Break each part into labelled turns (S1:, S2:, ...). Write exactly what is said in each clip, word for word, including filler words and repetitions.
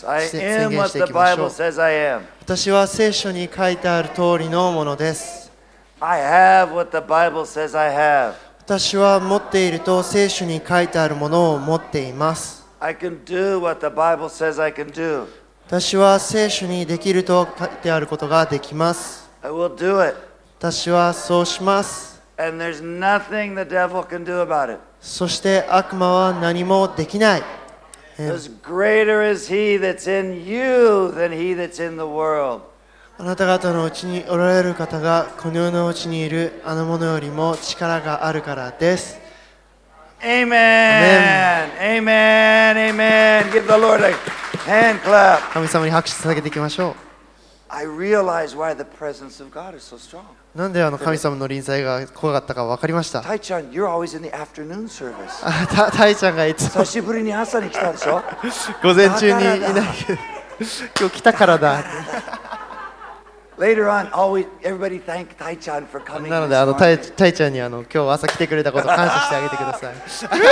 S1: Yes, I
S2: 宣
S1: am
S2: 言
S1: what
S2: してい
S1: the
S2: きましょ
S1: Bible
S2: う。
S1: says I am.
S2: 私は聖書に書いてある通りのものです。
S1: I have what the Bible says I have.
S2: 私は持っていると聖書に書いてあるものを持っています。
S1: I can do what the Bible says I can do.
S2: 私は聖書にできると書いてあることができます。
S1: I will do it.
S2: 私はそうします。
S1: And there's nothing the devil can do about it.
S2: そして悪魔は何もできない。
S1: Because greater is he that's in you than he that's in the world.
S2: あなた方のうちにおられる方がこの世のうちにいるあのものよりも力があるからです。
S1: Amen. Amen. Amen. Give the Lord a hand clap.
S2: 神様に拍手捧げていきましょう。
S1: I realize why the presence of God is so strong.
S2: なんであの神様の臨在が怖かったか分かりました。
S1: Tai-chan, you're always in the afternoon service.
S2: あたタイちゃんがいつも
S1: 久しぶりに朝に来たでしょ
S2: 午前中にいないけど今日来たからだ。
S1: Later on, always everybody thank Tai-chan for coming.
S2: なのであのタイタイちゃんにあの今日朝来てくれたことを感謝してあげてください。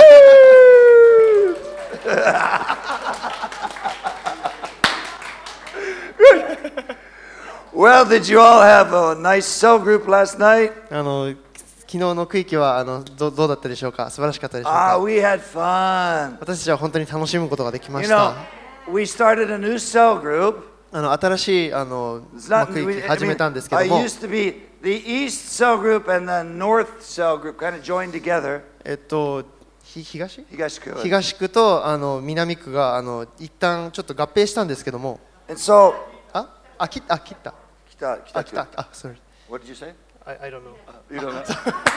S1: Well, did you all have a nice cell group last night?
S2: あの昨日の区域はあの ど, どうだったでしょうか。素晴らしかったでしょう
S1: Ah,
S2: か。
S1: we had fun.
S2: 私たちは本当に楽しむことができま
S1: You
S2: し
S1: know,
S2: た。
S1: we started a new cell group.
S2: あの新しいあの、
S1: It's
S2: まあ、
S1: not,
S2: 区
S1: we,
S2: 域
S1: I
S2: 始め
S1: mean,
S2: たんですけ
S1: I
S2: ども、
S1: used to be the East cell group and the North cell group kind of joined together.
S2: えっとひ東
S1: 東区。
S2: 東区とあの南区があの一旦ちょっと合併したんですけども、
S1: And so,
S2: ああ切ったあ切った
S1: 北
S2: あ
S1: 北区。
S2: 切ったあ sorry
S1: What did you say?
S2: I I don't know
S1: You don't know?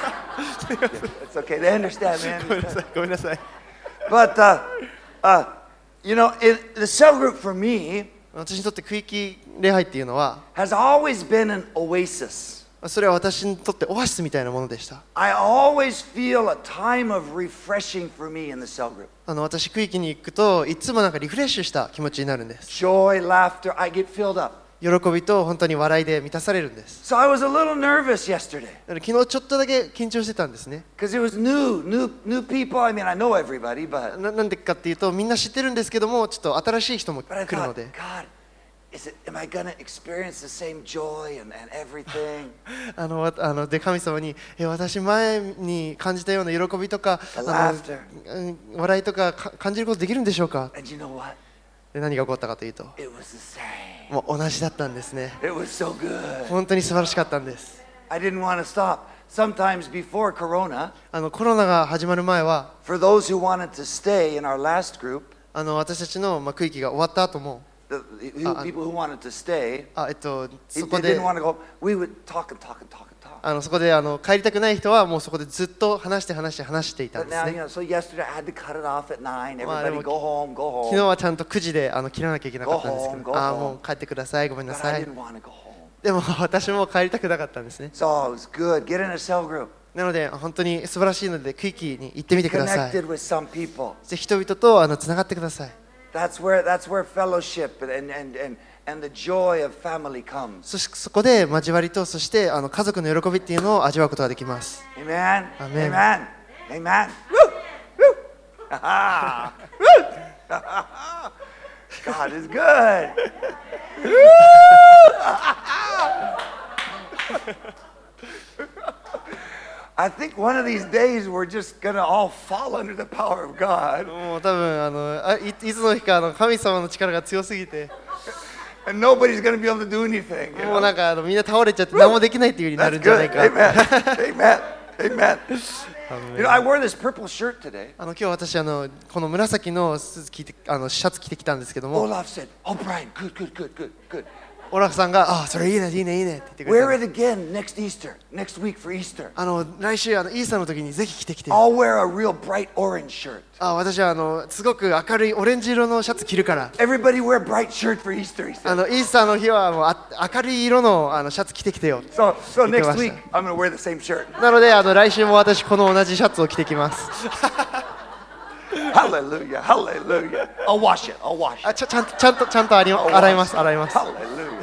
S1: It's okay. They understand, man.
S2: ごめんなさいごめんなさい。
S1: But, uh, uh, you know, it, the cell group for me
S2: 私にとって区域礼拝っていうのは
S1: has always been an oasis.
S2: それは私にとってオアシスみたいなものでした。
S1: I always feel a time of refreshing for me in the cell group.
S2: あの私区域に行くといつもなんかリフレッシュした気持ちになるんです。
S1: Joy, laughter, I get filled up.
S2: 喜びと本当に笑いで満たされるんです。
S1: So I was a little nervous yesterday
S2: だから昨日ちょっとだけ緊張してたんですね。
S1: because it was new, new, new people. I mean, I know everybody, but
S2: な, なんでかっていうとみんな知ってるんですけどもちょっと新しい人も
S1: but I
S2: 来るの
S1: thought,
S2: で
S1: God, is it? Am I gonna experience the same joy and, and everything?
S2: あのわあので神様にえ私前に感じたような喜びとか
S1: The
S2: あ
S1: laughter.
S2: の、うん笑いとかか感じることできるんでしょうか。
S1: And you know what?
S2: で何が起こったかというと
S1: It was the same.
S2: もう同じだったんですね。
S1: It was so good.
S2: 本当に素晴らしかったんです。
S1: I didn't want to stop. Sometimes before Corona,
S2: あのコロナが始まる前は
S1: for those who wanted to stay in our last group,
S2: あの私たちの、まあ、区域が終わった後も
S1: the, the who-
S2: Uh,
S1: people who wanted to stay,
S2: あ、えっと、
S1: they,
S2: そこ
S1: they
S2: で
S1: didn't want to go. We would talk and talk and talk and talk.
S2: あのそこであの帰りたくない人はもうそこでずっと話して話して話していたん
S1: But
S2: です
S1: now, you
S2: ね。
S1: know, so yesterday I had to cut it off at nine.
S2: Well,
S1: Everybody
S2: I
S1: go home, go
S2: 昨日
S1: home.
S2: はちゃんとくじであの切らなきゃいけなかったんですけ
S1: Go home,
S2: ど、
S1: go
S2: ああ
S1: home.
S2: もう帰ってください、ごめんな
S1: But
S2: さ
S1: I
S2: い。
S1: didn't want to go home.
S2: でも私も帰りたくなかったんですね。
S1: So it was good. Get in a cell group.
S2: なので本当に素晴らしいので区域に行ってみてください。
S1: Connected with some people.
S2: で人々とあのつながってください。
S1: That's where that's where fellowship and and and and the joy of family comes.
S2: そしてそこで交わりとそしてあの家族の喜びっていうのを味わうことができます。
S1: Amen.
S2: Amen.
S1: Amen. Amen. Woo! Woo! Ha-ha. Woo! God is good. I think one of these days we're just gonna all fall under the power of God,
S2: もう多分あのあ い, いつの日かあの神様の力が強すぎて
S1: and nobody's gonna be able to do anything. You
S2: もう
S1: know?
S2: なんかあのみんな倒れちゃって何もできないっていう風になる
S1: That's
S2: んじゃな
S1: good.
S2: いか。
S1: Amen. Amen. Amen. You know, I wore this purple shirt today.
S2: あの今日私あのこの紫のスーツ着てあのシャツ着てきたんですけども、
S1: Olaf said, "Oh, Brian, good, good, good, good, good.
S2: オラフさんがあそれいいねいいねいいねって言ってくれた
S1: Wear
S2: んです。
S1: it again next Easter, next week for Easter.
S2: あの来週あのイースターの時にぜひ着てきて。
S1: I'll wear a real bright orange shirt.
S2: あ私はあのすごく明るいオレンジ色のシャツ着るから。
S1: Everybody wear bright shirt for Easter," he
S2: あ
S1: said.
S2: のイースターの日はもうあ明るい色のあのシャツ着てきてよ。
S1: So, so
S2: Ikaw
S1: next
S2: basta.
S1: week I'm gonna wear the same shirt.
S2: なのであの来週も私この同じシャツを着てきます。
S1: Hallelujah, hallelujah. I'll wash it. I'll wash
S2: あ
S1: it.
S2: ちゃちゃんとちゃんとちゃんと洗い
S1: I'll
S2: 洗い
S1: wash
S2: ます
S1: it.
S2: 洗います。
S1: Hallelujah.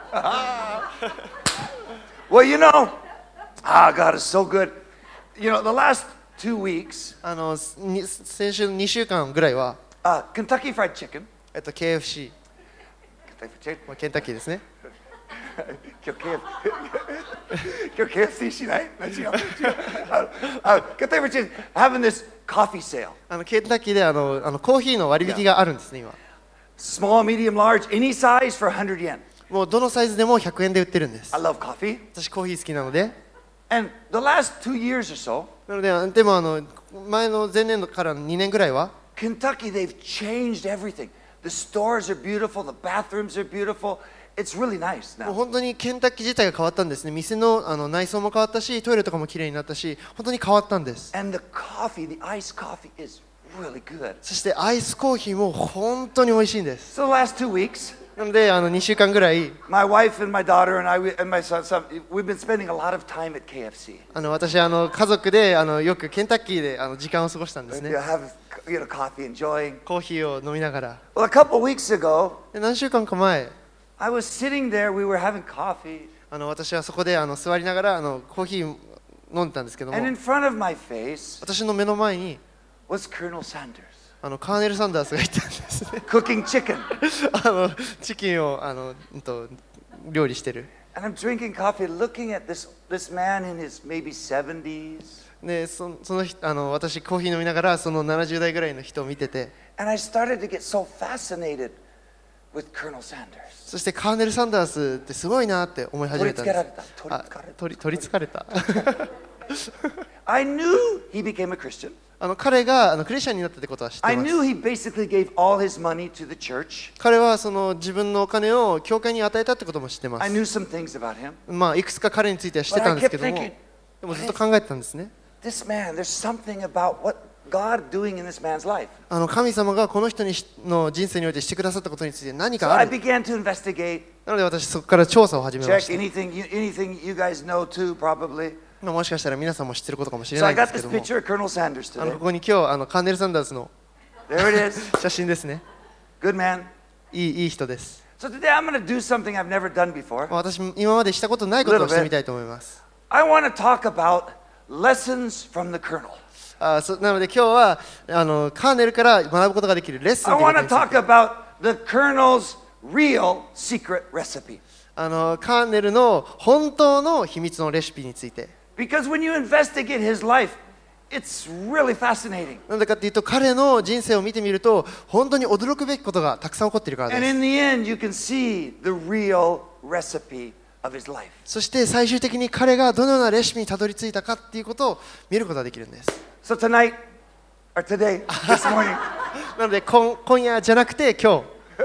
S1: Well, you know, ah, God is so good. You know, the last two weeks,
S2: あのに先週にしゅうかんぐらいは
S1: uh, Kentucky Fried Chicken
S2: えっと ケーエフシー、 まあ、ケンタッキーですね。
S1: 今日 ケーエフ 今日 ケーエフシー しない？違う違う。あの、ケンタッキー having this coffee sale.
S2: あのケンタッキーであのあのコーヒーの割引があるんですね今。
S1: Small, medium, large, any size for one hundred yen.
S2: もうどのサイズでもひゃくえんで売ってるんです。
S1: I love coffee.
S2: 私コーヒー好きなので。
S1: And the last two years or so,
S2: なのででもあの前の前年度からにねんぐらいは
S1: Kentucky, they've changed everything. The stores are beautiful, the bathrooms are beautiful. It's really nice
S2: もう
S1: now.
S2: 本当にケンタッキー自体が変わったんですね。店の、あの内装も変わったし、トイレとかも綺麗になったし、本当に変わったんです。
S1: And the coffee, the iced coffee is really good.
S2: そしてアイスコーヒーも本当に美味しいんです。
S1: So the last two weeks,
S2: なのであのにしゅうかんぐらい
S1: my wife and my daughter and I we- and my son, son, we've been spending a lot of time at K F C.
S2: あの私あの家族であのよくケンタッキーであの時間を過ごしたんです
S1: You
S2: ね。
S1: have you know, coffee, enjoying.
S2: コーヒーを飲みながら。
S1: Well, a couple weeks ago,
S2: で何週間か前、
S1: I was sitting there, we were having coffee,
S2: あの私はそこであの座りながらあのコーヒー飲んでたんですけども、
S1: and in front of my face
S2: 私の目の前に
S1: was Colonel Sanders
S2: あのカーネル・サンダースがいたんですね。
S1: cooking chicken.
S2: あのチキンをあの、うんと、料理してる。
S1: And I'm drinking coffee, looking at this, this man in his maybe seventies.
S2: でそその人あの私コーヒー飲みながらそのななじゅう代ぐらいの人を見てて、
S1: And I started to get so fascinated with Colonel Sanders.
S2: そしてカーネル・サンダースってすごいなって思い始めたんです。
S1: 取りつかれた。
S2: 取り取りつかれた。
S1: I knew he became a Christian.
S2: あの彼があのクリスチャンになったってことは知って
S1: I
S2: ます。
S1: knew he basically gave all his money to the church.
S2: 彼はその自分のお金を教会に与えたってことも知ってま
S1: I
S2: す。
S1: knew some things about him.
S2: まあいくつか彼については知ってたんですけども、
S1: But I kept thinking,
S2: でもずっと考えてたんですね。
S1: This man, there's something about what God doing in this man's life.
S2: あの神様がこの人にしの人生においてしてくださったことについて何
S1: So
S2: かあ
S1: I
S2: る。
S1: began to investigate,
S2: なので私そこから調査を始めま
S1: check
S2: した。
S1: anything you, anything you guys know too, probably.
S2: まあもしかしたら皆さんも知ってることかもしれ
S1: So
S2: な
S1: I
S2: いんで
S1: got
S2: すけ
S1: this
S2: ども、
S1: picture of Colonel Sanders
S2: あの
S1: today.
S2: ここに今日あのカーネル・サンダースの
S1: There it is.
S2: 写真ですね。
S1: Good man.
S2: いいいい人です。
S1: So today I'm going to do something I've never done before.
S2: まあ私今までしたことないことをしてみたいと思います。
S1: I want to talk about lessons from the Colonel.
S2: あそなので今日はあのカーネルから学ぶことができるレッスン
S1: I
S2: というこ
S1: want
S2: と
S1: to
S2: について
S1: talk about the Colonel's real secret recipe.
S2: あのカーネルの本当の秘密のレシピについて。
S1: Because when you investigate his life, it's really fascinating.
S2: なんでかっていうと彼の人生を見てみると本当に驚くべきことがたくさん起こっているから
S1: And
S2: です。
S1: in the end, you can see the real recipe of his life.
S2: そして最終的に彼がどのようなレシピにたどり着いたかっていうことを見ることができるんです。
S1: So tonight, or today, this morning,
S2: なので今今夜じゃなくて今日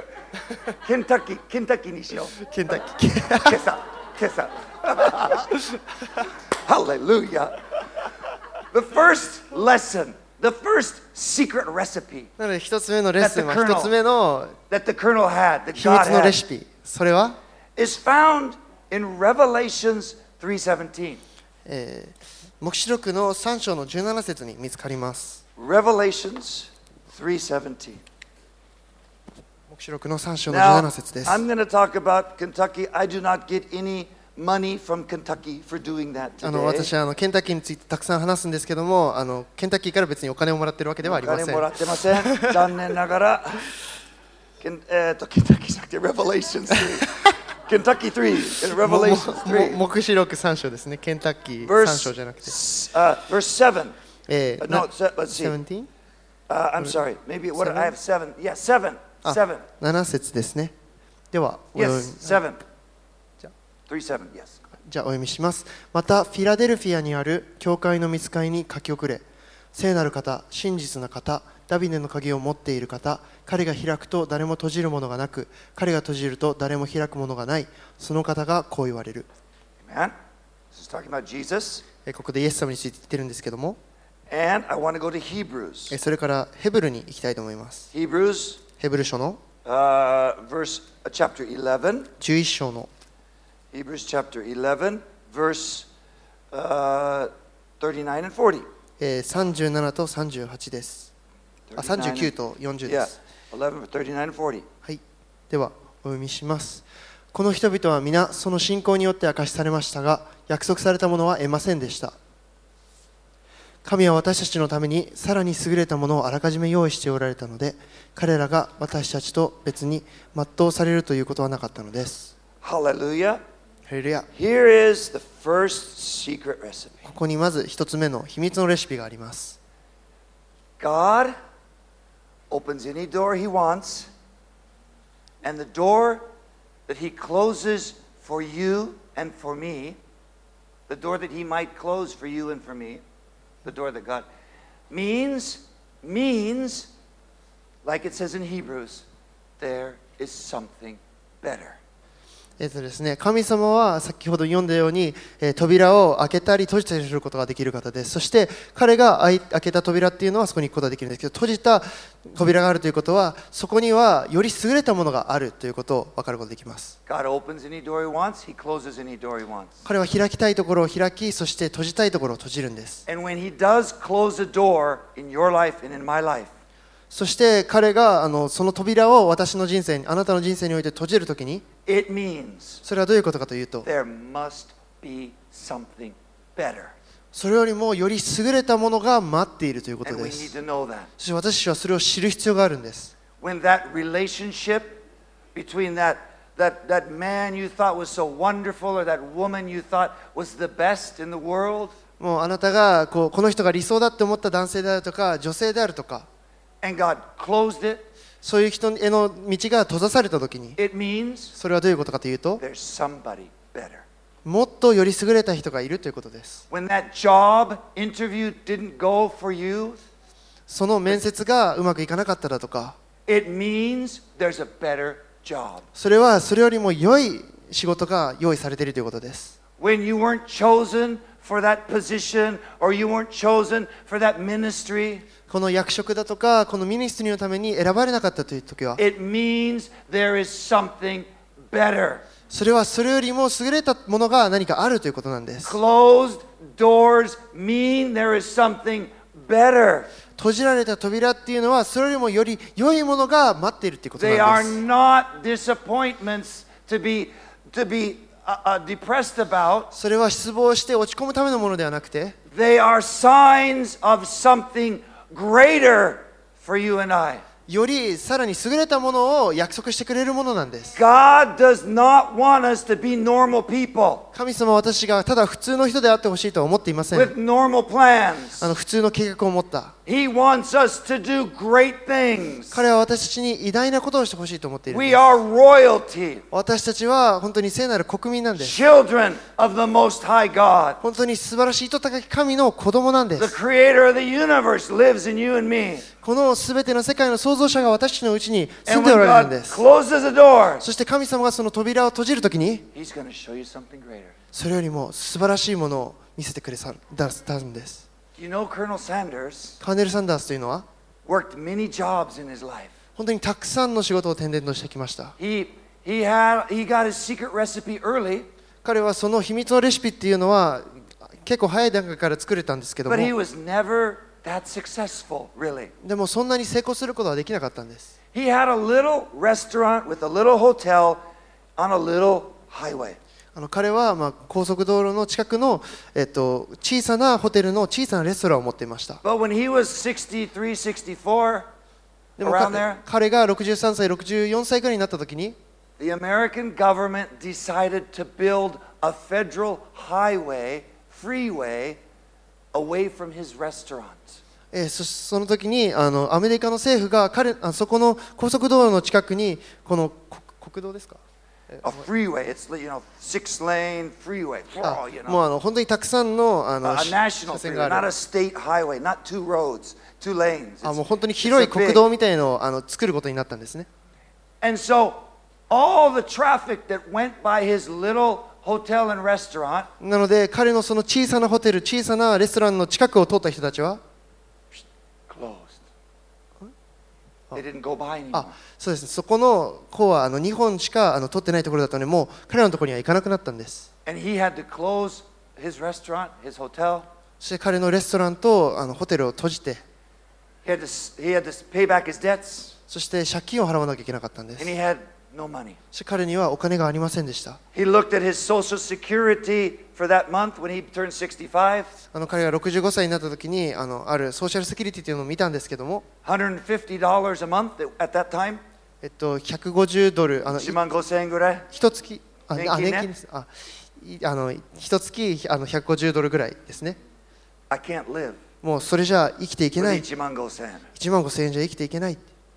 S1: Kentucky, Kentucky にしよう。
S2: ケンタッキー
S1: 今朝、今朝。Hallelujah. The first lesson, the first secret recipe
S2: なので一つ目のレッスンは
S1: That the
S2: 一つ目の
S1: that the Colonel had, that
S2: 秘
S1: God
S2: 密のレ
S1: had,
S2: シピ、それは、
S1: is found in Revelations three seventeen.
S2: えー、黙示録のさん章のじゅうなな節に見つかります。
S1: Revelations three seventeen.
S2: 黙示録のさん章のじゅうな
S1: Now,
S2: な節です。
S1: I'm going to talk about Kentucky. I do not get any money from Kentucky for doing that
S2: あの
S1: today.
S2: 私はあのケンタッキーについてたくさん話すんですけども、あのケンタッキーから別にお金をもらってるわけではありません。
S1: お金もらってません。残念ながら。ケンえーと、ケンタッキーじゃなくて Revelations three. Kentucky three and
S2: も
S1: Revelations
S2: も
S1: three.
S2: 黙示録さん章ですね。ケンタッキー
S1: Verse,
S2: さん章じゃなくて。
S1: uh, verse seven.
S2: え
S1: Uh,
S2: ー、
S1: no,
S2: な
S1: se- let's see.
S2: seventeen?
S1: Uh, I'm sorry. Maybe what I have seven. Yeah, seven.
S2: あ
S1: Seven.
S2: なな節ですね。では、お読み
S1: Yes, seven.
S2: じゃ
S1: Three seven. Yes.
S2: じゃあお読みします。またフィラデルフィアにある教会の御使いに書き送れ。聖なる方、真実な方、ダビデの鍵を持っている方、彼が開くと誰も閉じるものがなく、彼が閉じると誰も開くものがない。その方がこう言われる。
S1: Amen. This is talking about Jesus.
S2: えここでイエス様について言ってるんですけども、
S1: And I want to go to Hebrews.
S2: えそれからヘブルに行きたいと思います。
S1: Hebrews,
S2: ヘブル書の
S1: uh, verse, uh, chapter eleven.
S2: じゅういち章の
S1: Hebrews chapter eleven, verse uh, thirty-nine and forty.
S2: えーさんじゅうななとさんじゅうはちです。あ、さんじゅうきゅうとよんじゅうで
S1: Yeah,
S2: す。
S1: eleven, thirty-nine and forty.
S2: はい、ではお読みします。この人々は皆その信仰によって明かしされましたが、約束されたものは得ませんでした。 神は私たちのためにさらに優れたものをあらかじめ用意しておられたので、彼らが私たちと別に全うされるということはなかったのです。
S1: Hallelujah.
S2: ハレルヤ。
S1: Here is the first secret recipe.
S2: ここにまず一つ目の秘密のレシピがあります。
S1: God opens any door He wants, and the door that He closes for you and for me, the door that He might close for you and for me, the door that God means, means, like it says in Hebrews, there is something better.
S2: えっとですね、神様は先ほど読んだように、えー、扉を開けたり閉じたりすることができる方です。そして彼が開けた扉っていうのはそこに行くことができるんですけど、閉じた扉があるということはそこにはより優れたものがあるということを分かることができます。
S1: God opens any door He wants, He closes any door He wants.
S2: 彼は開きたいところを開き、そして閉じたいところを閉じるんです。
S1: And when He does close a door in your life and in my life,
S2: そして彼があのその扉を私の人生に、あなたの人生において閉じるときに、
S1: it means
S2: それはどういうことかというと、
S1: there must be something better.
S2: それよりもより優れたものが待っているということ
S1: And
S2: で
S1: we
S2: す。
S1: need to know that.
S2: そして私たちはそれを知る必要があるんです。
S1: When that relationship between that, that, that man you thought was so wonderful or that woman you thought was the best in the world,
S2: もうあなたがこうこの人が理想だって思った男性であるとか女性であるとか、
S1: and God closed it,
S2: そういう人への道が閉ざされたときに、
S1: it means
S2: それはどういうことかというと、
S1: there's somebody better.
S2: もっとより優れた人がいるということです。
S1: When that job interview didn't go for you,
S2: その面接がうまくいかなかっただとか、
S1: it means there's a better job.
S2: それはそれよりも良い仕事が用意されているということです。
S1: When you weren't chosen for that position or you weren't chosen for that ministry,
S2: この役職だとかこのミニストリーのために選ばれなかったという時は、
S1: it means there is something better.
S2: それはそれよりも優れたものが何かあるということなんです。
S1: Closed doors mean there is something better.
S2: 閉じられた扉っていうのはそれよりもより良いものが待っているということな
S1: They
S2: ん
S1: are
S2: です。
S1: not disappointments to be, to be uh, uh, depressed about.
S2: それは失望して落ち込むためのものではなくて、
S1: They are signs of something greater for you and I.
S2: よりさらに優れたものを約束してくれるものなんです。
S1: God does not want us to be normal people
S2: 神様は私がただ普通の人であってほしいとは思っていません。
S1: with normal plans.
S2: あの普通の計画を持った。
S1: He wants us to do great things.
S2: 彼は私たちに偉大なことをしてほしいと思っているん
S1: We
S2: です。
S1: are royalty,
S2: 私たちは本当に聖なる国民なんです。
S1: children of the Most High God.
S2: 本当に素晴らしいと高き神の子供なんで
S1: The
S2: す。
S1: creator of the universe lives in you and me.
S2: このすべての世界の創造者が私たちのうちに住ん
S1: And
S2: でお
S1: when
S2: られるん
S1: God
S2: です。
S1: closes a door,
S2: そして神様がその扉を閉じるときに、
S1: He's going to show you something greater.
S2: それよりも素晴らしいものを見せてくれたんです。
S1: You know, Colonel Sanders
S2: カーネル・サンダースというのは
S1: worked many jobs in his life.
S2: 本当にたくさんの仕事を転々としてきました。
S1: He, he, had, he got his secret recipe early,
S2: 彼はその秘密のレシピっていうのは結構早い段階から作れたんですけども、
S1: but he was never that successful, really.
S2: でもそんなに成功することはできなかったんです。
S1: He had a little restaurant with a little hotel on a little highway.
S2: あの彼はまあ高速道路の近くの、えっと、小さなホテルの小さなレストランを持っていました。
S1: But when he was sixty-three, sixty-four,
S2: でも
S1: around
S2: 彼
S1: there,
S2: 彼がろくじゅうさんさい、ろくじゅうよんさいぐらいになった時に、
S1: the American government decided to build a federal highway, freeway, away from his restaurant.
S2: えー、そその時にあのアメリカの政府が彼あそこの高速道路の近くにこの国国道ですか、
S1: A freeway, it's, you know, six lane freeway.
S2: あ
S1: Oh, you
S2: もう
S1: know.
S2: あの本当にたくさんのあ
S1: A,
S2: の
S1: a
S2: し
S1: national
S2: 車線
S1: freeway,
S2: が
S1: not
S2: あ
S1: a
S2: る
S1: state highway, not two roads, two lanes.
S2: あ
S1: It's-
S2: もう本当に
S1: it's
S2: 広
S1: a
S2: い国
S1: big-
S2: 道みたいのをあの作ることになったんですね。
S1: And so all the traffic that went by his little hotel and restaurant
S2: なので彼のその小さなホテル、小さなレストランの近くを通った人たちは、
S1: closed. They didn't go by anymore.
S2: あそうですね、そこの方はあのにほんしかあの通ってないところだったので、もう彼らのところには行かなくなったんです。
S1: And he had to close his restaurant, his hotel.
S2: そして彼のレストランとあのホテルを閉じて、
S1: He had to, he had to pay back his debts.
S2: そして借金を払わなきゃいけなかったんで
S1: And
S2: す。
S1: he had no money.
S2: そして彼にはお金がありませんでした。
S1: He looked at his social security for that month when he turned sixty-five.
S2: あの彼がろくじゅうごさいになった時にあのあるソーシャルセキュリティというのを見たんですけども、
S1: one hundred fifty dollars a month at that time.
S2: えっと、ひゃくごじゅうドル、あの
S1: いちまんごせんえんぐらい。
S2: 一月、あ、
S1: 年金ね
S2: あ年金です。あ、いあの一月あのひゃくごじゅうドルぐらいですね。
S1: I can't live
S2: もうそれじゃ生きていけな
S1: with
S2: い。
S1: いちまんごせんえん。
S2: いちまんごせんえんじゃ生きていけない。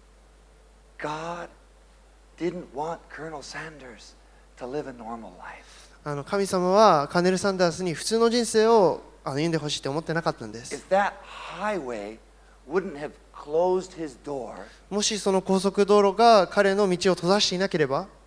S1: God didn't want Colonel Sanders to live a normal life.
S2: あの神様はカーネル・サンダースに普通の人生をあの歩んでほしいと思ってなかったんです。
S1: If that highway wouldn't have closed his door,
S2: もしその高速道路が彼の道を閉ざしていなければ、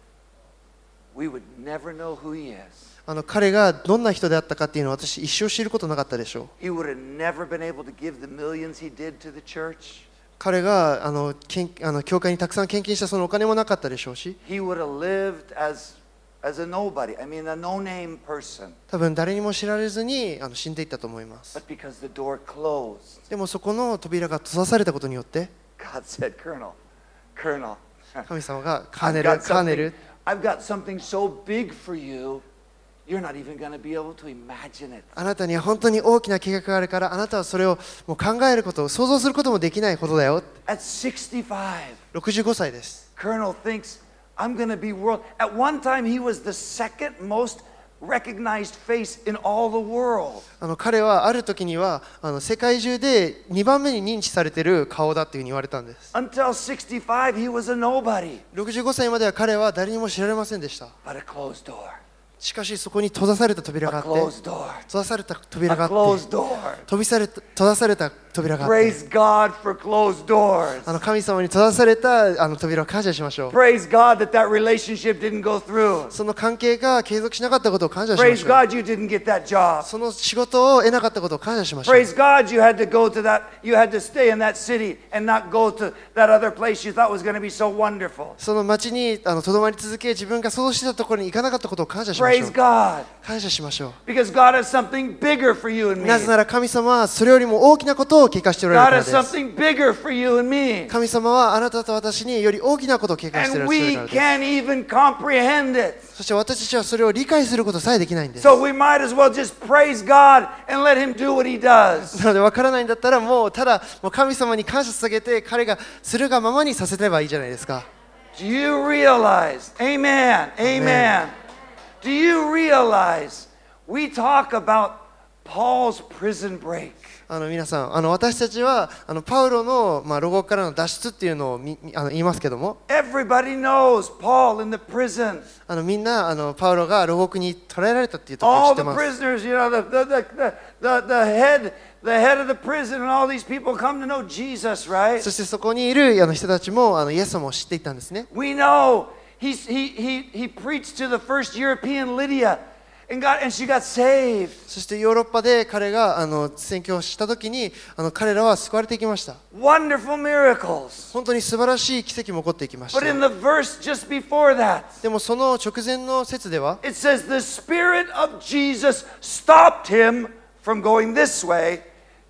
S1: we would never know who he is.
S2: あの彼がどんな人であったかっていうのを私一生知ることなかったでしょう。
S1: He would have never been able to give the millions he did to the church.
S2: 彼があの献あの教会にたくさん献金したそのお金もなかったでしょうし、
S1: He would have lived as, as a nobody. I mean, a no-name person.
S2: 多分誰にも知られずにあの死んでいったと思います。
S1: But because the door closed,
S2: でもそこの扉が閉ざされたことによって
S1: God said, Colonel, Colonel,
S2: 神様がカーネ
S1: I've
S2: ル、
S1: got
S2: カーネ
S1: something,
S2: ル、
S1: I've got something so big for you, you're not even going to be able to imagine it.
S2: あなたには本当に大きな計画があるから、あなたはそれをもう考えることを想像することもできないことだよ。
S1: At sixty-five,
S2: ろくじゅうごさいです。
S1: Colonel thinks, I'm going to be world. At one time, he was the second most recognized face in all the world.
S2: あの彼はある時にはあの世界中でにばんめに認知されている顔だっていうふうに言われたんです。
S1: Until sixty-five, he was a nobody.
S2: ろくじゅうごさいまでは彼は誰にも知られませんでした。
S1: But a closed door.
S2: しかしそこに閉ざされた扉が
S1: A
S2: あって、
S1: closed door.
S2: 閉ざされた扉
S1: A
S2: があって、
S1: closed door.
S2: 飛びされた閉ざされた扉があって、
S1: Praise God for closed doors.
S2: あの神様に閉ざされたあの扉を感謝しましょう。
S1: Praise God that that relationship didn't go through.
S2: その関係が継続しなかったことを感謝しま
S1: Praise
S2: しょう。
S1: God you didn't get that job.
S2: その仕事を得なかったことを感謝しましょう。
S1: Praise God you had to go to that, you had to stay in that city and not go to that other place you thought was going to be so wonderful.
S2: その町にあのとどまり続け、自分が想像してたところに行かなかったことを感謝しましょ
S1: Praise
S2: う。
S1: God.
S2: 感謝しましょ
S1: Because God has something bigger for you and
S2: う。
S1: me.
S2: なぜなら神様はそれよりも大きなことを計画しておら
S1: God
S2: れる
S1: has
S2: からです。
S1: something bigger for you and me.
S2: 神様はあなたと私により大きなことを計画してお
S1: And
S2: られ
S1: we
S2: るからです。
S1: can't even comprehend it.
S2: そして私たちはそれを理解することさえできないんです。
S1: So we might as well just praise God and let Him do what He does.
S2: なので分からないんだったらもうただもう神様に感謝捧げて彼がするがままにさせればいいじゃないですか。
S1: Do you realize? Amen. Amen. Do you realize we talk about Paul's prison break?
S2: あの皆さん、あの私たちはあのパウロの、まあ、牢獄からの脱出っていうのをみあの言いますけども、
S1: Everybody knows Paul in the prison.
S2: あのみんなあのパウロが牢獄に捕らえられたっていうところを知
S1: All
S2: って
S1: the
S2: ます。
S1: prisoners, you know, the, the, the, the, the, the head the head of the prison and all these people come to know Jesus, right?
S2: そしてそこにいるあの人たちもあのイエス様を知っていたんですね。
S1: We know he's, he, he, he preached to the first European Lydia and, got, and she got saved.
S2: そしてヨーロッパで彼があの宣教をしたときにあの彼らは救われていきました。
S1: Wonderful miracles.
S2: 本当に素晴らしい奇跡も起こっていきまし
S1: But in
S2: た。
S1: the verse just before that,
S2: でもその直前の説では
S1: it says the Spirit of Jesus stopped him from going this way,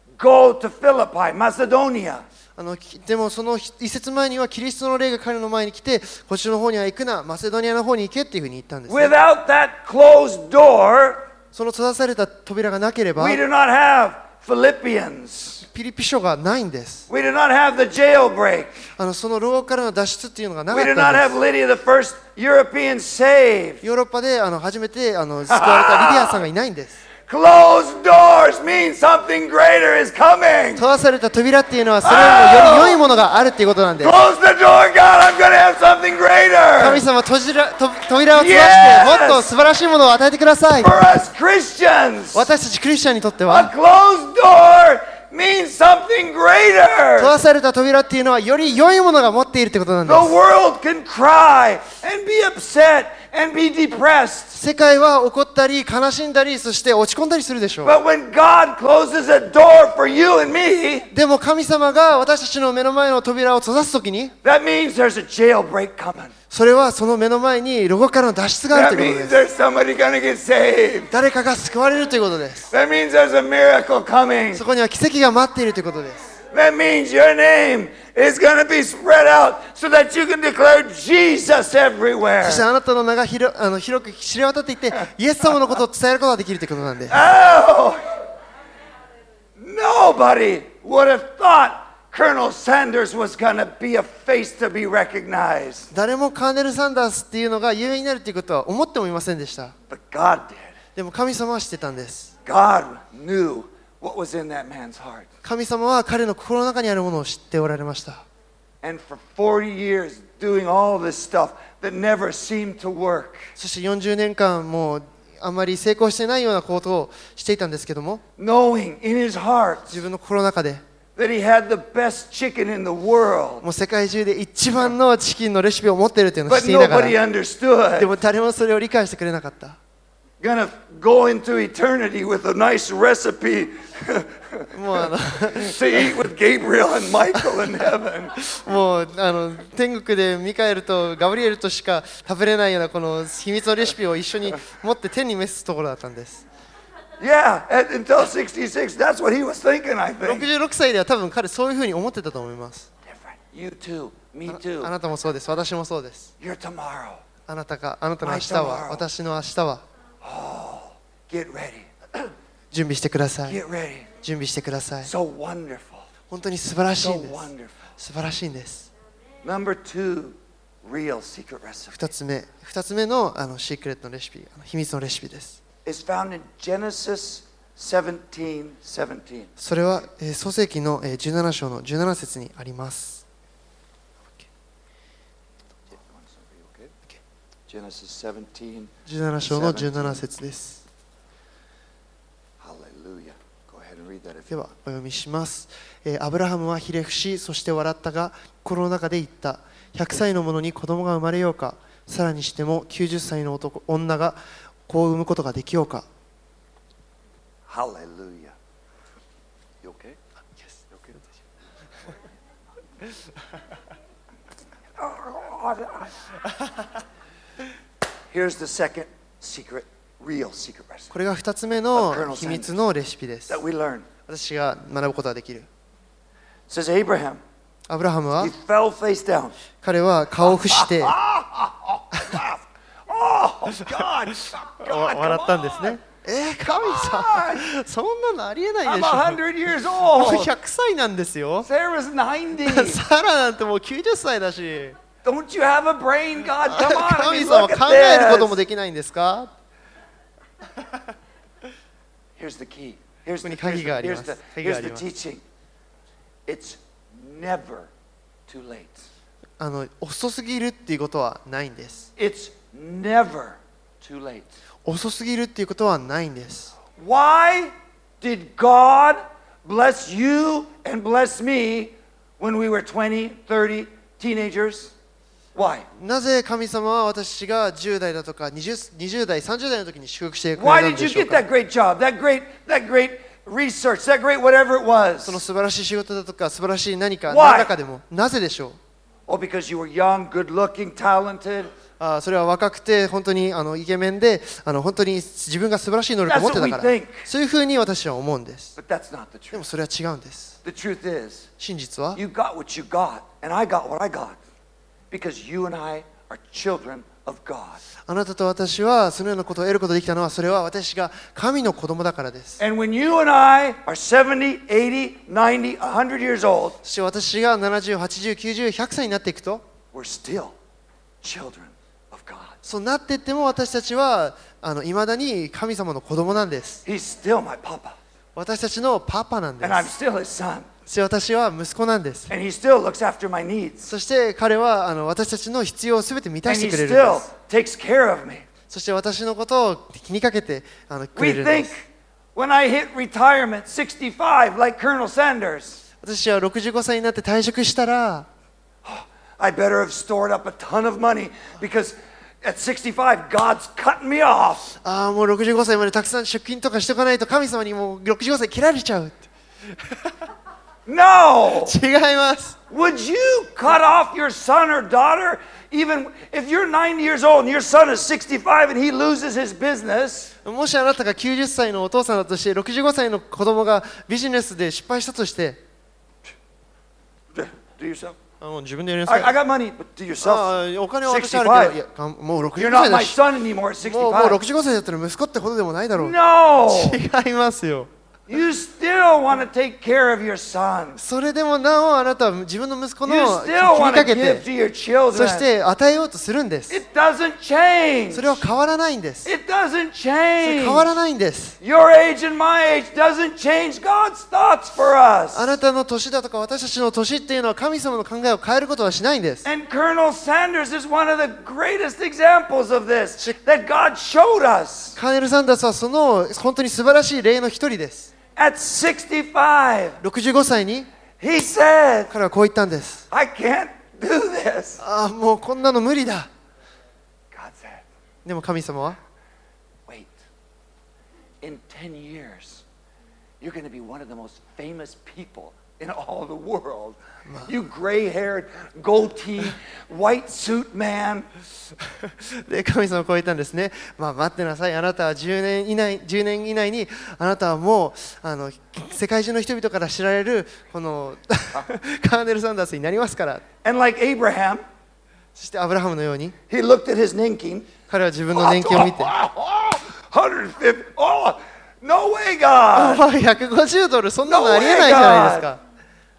S1: go to Philippi, Macedonia.
S2: あのでもその一節前にはキリストの霊が彼の前に来て、こっちの方には行くな、マセドニアの方に行けっていうふうに言ったんです、ね。
S1: Without that closed door,
S2: その閉ざされた扉がなければ
S1: we do not have Philippians.
S2: ピリピ書がないんです。
S1: We do not have the jailbreak.
S2: あのその牢獄からの脱出っていうのがなか
S1: We
S2: っ
S1: do
S2: た
S1: not
S2: ん
S1: have
S2: で
S1: Lydia, the first European saved.
S2: す。ヨーロッパであの初めてあの救われたリディアさんがいないんです。
S1: Closed doors mean something greater is coming.
S2: 閉ざされた扉っていうのはそれよりもより良いものがあるっていうことなんです。
S1: Close the door, God. I'm going to have something
S2: 神
S1: greater.
S2: 様閉じらと扉を閉ざして
S1: Yes!
S2: もっと素晴らしいものを与えてください。
S1: For us Christians,
S2: 私たちクリスチャンにとって
S1: a
S2: は
S1: closed door means something
S2: 閉
S1: greater.
S2: ざされた扉っていうのはより良いものが持っているってことなんで
S1: The
S2: す。
S1: world can cry and be upset and be depressed.
S2: 世界は怒ったり悲しんだりそして落ち込んだりするでしょう。
S1: But when God closes a door for you and me,
S2: でも神様が私たちの目の前の扉を閉ざすときに
S1: that means there's a jailbreak coming.
S2: それはその目の前に牢獄からの脱出がある
S1: That
S2: ということ
S1: means
S2: です。
S1: there's somebody going to get saved.
S2: 誰かが救われるということです。
S1: That means there's a miracle coming.
S2: そこには奇跡が待っているということです。
S1: That means your name is going to be spread out so that you can declare Jesus everywhere.
S2: そしてあなたの名が広あの広く知れ渡っていて、イエス様のことを伝えることができるということなんで。
S1: Oh! Nobody would have thought Colonel Sanders was going to be a face to be recognized.
S2: 誰もカーネル・サンダースっていうのが有名になるということは思ってもいませんでした。
S1: But God did.
S2: でも神様は知ってたんです。
S1: God knew what was in that man's heart.
S2: 神様は彼の心の中にあるものを知っておられました。
S1: And for forty years doing all this stuff that never seemed to work.
S2: そしてよんじゅうねんかんもうあまり成功してないようなことをしていたんですけども、
S1: Knowing in his heart
S2: 自分の心の中で
S1: that he had the best chicken in the world.
S2: もう世界中で一番のチキンのレシピを持っているというのを知
S1: But
S2: っていなが
S1: nobody
S2: ら、
S1: understood.
S2: でも誰もそれを理解してくれなかった。
S1: Gonna go into eternity with a nice recipe
S2: もうあの
S1: to eat with Gabriel and Michael in heaven.
S2: もうあの天国でミカエルとガブリエルとしか食べれないようなこの秘密のレシピを一緒に持って天に召すところだったんです。
S1: Yeah, and until sixty-six, that's what he was thinking, I
S2: ろく
S1: think.
S2: じゅうろくさいでは多分彼そういうふうに思ってたと思います。
S1: Different. You too. Me
S2: あ
S1: too.
S2: あなたもそうです。私もそうです。
S1: Your tomorrow.
S2: あなたがあなたの明日は
S1: My tomorrow.
S2: 私の明日は
S1: Get ready.
S2: 準備してください。
S1: Get ready.
S2: 準備してください。
S1: So wonderful.
S2: 本当に素晴らしい
S1: So
S2: んです。
S1: wonderful.
S2: 素晴らしいんです。
S1: Number two, real secret recipe
S2: 二つ目、二つ目のあのシークレットのレシピ、あの秘密のレシピです。
S1: is found in Genesis seventeen seventeen.
S2: それは、えー創世記のえーじゅうなな章のじゅうなな節にあります。
S1: Genesis seventeen.
S2: じゅうなな章のじゅうなな節です。
S1: Hallelujah. Go ahead and read that if
S2: で
S1: you
S2: はお読みします。えーアブラハムはひれ伏し、そして笑ったが、心の中で言った。ひゃくさいの者に子供が生まれようか。さらにしてもきゅうじゅっさいの男女が子を産むことができようか。
S1: Hallelujah. You okay?
S2: Yes.
S1: You okay? Here's the second secret, real secret recipe
S2: これがふたつめの秘密のレシピです。
S1: that we learn.
S2: 私が学ぶことができる。
S1: It says Abraham,
S2: アブラハムは
S1: he fell face down.
S2: 彼は顔を伏してわ
S1: Oh, God. God,
S2: 笑ったんです
S1: come
S2: ね。えー、神様、そんなのありえない
S1: on.
S2: で
S1: I'm
S2: しょ。
S1: one hundred years
S2: もう
S1: old.
S2: ひゃくさいなんですよ。
S1: Sarah's ninety.
S2: サラなんてもうきゅうじゅっさいだし。
S1: Don't you have a brain, God? Come on. I
S2: 神
S1: mean,
S2: 様
S1: look
S2: 考
S1: at
S2: えることも
S1: this.
S2: できないんですか？
S1: Here's the key. Here's
S2: ここ
S1: the,
S2: に
S1: here's
S2: 鍵
S1: the,
S2: がありま
S1: here's
S2: す。
S1: the,
S2: 鍵が
S1: here's
S2: あ
S1: the
S2: ります。
S1: teaching. It's never too late.
S2: あの遅すぎるっていうことはないんです。
S1: It's never too late.
S2: 遅すぎるっていうことはないんです。
S1: Why did God bless you and bless me when we were twenty, thirty, teenagers? Why?
S2: なぜ神様は私がじゅう代だとか 20, 20代、さんじゅう代の時に祝福してくれ
S1: Why
S2: た
S1: did
S2: んで
S1: you
S2: しょう
S1: get
S2: か？
S1: that great job, that great, that great research, that great whatever it
S2: その
S1: was?
S2: 素晴らしい仕事だとか素晴らしい何か
S1: Why?
S2: 何らかでもなぜでしょう？
S1: Oh, because you were young, good looking, talented.
S2: あそれは若くて本当にあのイケメンであの本当に自分が素晴らしい能力を持ってたから
S1: That's what we think.
S2: そういうふうに私は思うんです。
S1: But that's not the
S2: でも
S1: truth.
S2: それは違うんです。
S1: The truth is,
S2: 真実は
S1: you got what you got, and I got what I got. Because you and I are children of God.
S2: あなたと私はそのようなことを得ることができたのはそれは私が神の子供だからです。
S1: And when you and I are seventy, eighty, ninety, one hundred years old,
S2: そして私がななじゅう、はちじゅう、きゅうじゅう、ひゃくさいになっていくと
S1: we're still children of God.
S2: そうなっていっても私たちはあの未だに神様の子供なんです。
S1: He's still my papa.
S2: 私たちのパパなんで
S1: And I'm
S2: す。
S1: still his son.
S2: そして私は息子なんです。
S1: And he still looks after my needs.
S2: そして彼はあの私たちの必要をすべて満た
S1: And
S2: し
S1: he
S2: てくれるんで
S1: still
S2: す。
S1: takes care of me.
S2: そして私のことを気にかけてあのく
S1: We
S2: れるんで
S1: think
S2: す。
S1: when I hit retirement, sixty-five, like Colonel Sanders,
S2: 私はろくじゅうごさいになって退職したら
S1: I better have stored up a ton of money because at sixty-five, God's cutting me off.
S2: ああもうろくじゅうごさいまでたくさん出金とかしておかないと神様にもうろくじゅうごさい切られちゃうって。
S1: No!
S2: 違います。
S1: Would you cut off your son or daughter even if you're ninety years old and your son is sixty-five and he loses his business?
S2: もしあなたがきゅうじゅっさいのお父さんだとしてろくじゅうごさいの子供がビジネスで失敗したとして
S1: Do yourself.
S2: あの自分でやりなさ
S1: I,
S2: い。
S1: I got money, but do
S2: あ
S1: yourself.
S2: あお金は私あるけど、いやかもうろくじゅ
S1: You're
S2: うごさい
S1: not
S2: だ
S1: my
S2: し、
S1: son anymore at
S2: もうもう
S1: sixty-five.
S2: ろくじゅうごさいだったら息子ってほどでもないだろう。
S1: No!
S2: 違いますよ。
S1: You still want to take care of your son.
S2: それでもなおあなたは自分の息子の
S1: You
S2: 気
S1: still
S2: に
S1: want
S2: か
S1: to
S2: け
S1: give
S2: て、
S1: to your
S2: そし
S1: children.
S2: て与えようとするんです。
S1: It doesn't change.
S2: それは変わらないんです。そ
S1: It doesn't
S2: れ
S1: change.
S2: 変わらないんです。
S1: Your age and my age doesn't change God's thoughts for us.
S2: あなたの年だとか私たちの年っていうのは神様の考えを変えることはしないんです。
S1: And Colonel Sanders is one of the greatest examples of this that God showed us.
S2: カーネル・サンダースはその本当に素晴らしい例の一人です。
S1: At sixty-five,
S2: ろくじゅうごさいに
S1: he said,
S2: 彼はこう言ったんです。
S1: I can't do this.
S2: ああ、もうこんなの無理だ。
S1: God said,
S2: でも神様は
S1: wait, in ten years, you're going to be one of the most famous people in all the world. You gray-haired, goatee, white suit man.
S2: で神様はこう言ったんですね。まあ待ってなさい。あなたはじゅうねん以内、じゅうねん以内にあなたはもうあの世界中の人々から知られるこのカーネル・サンダースになりますから。
S1: And like Abraham,
S2: そしてアブラハムのように
S1: he looked at his ninking.
S2: 彼は自分の年金を見て、
S1: one hundred fifty. Oh, no way, God.
S2: ひゃくごじゅうドルそんなのありえないじゃないですか。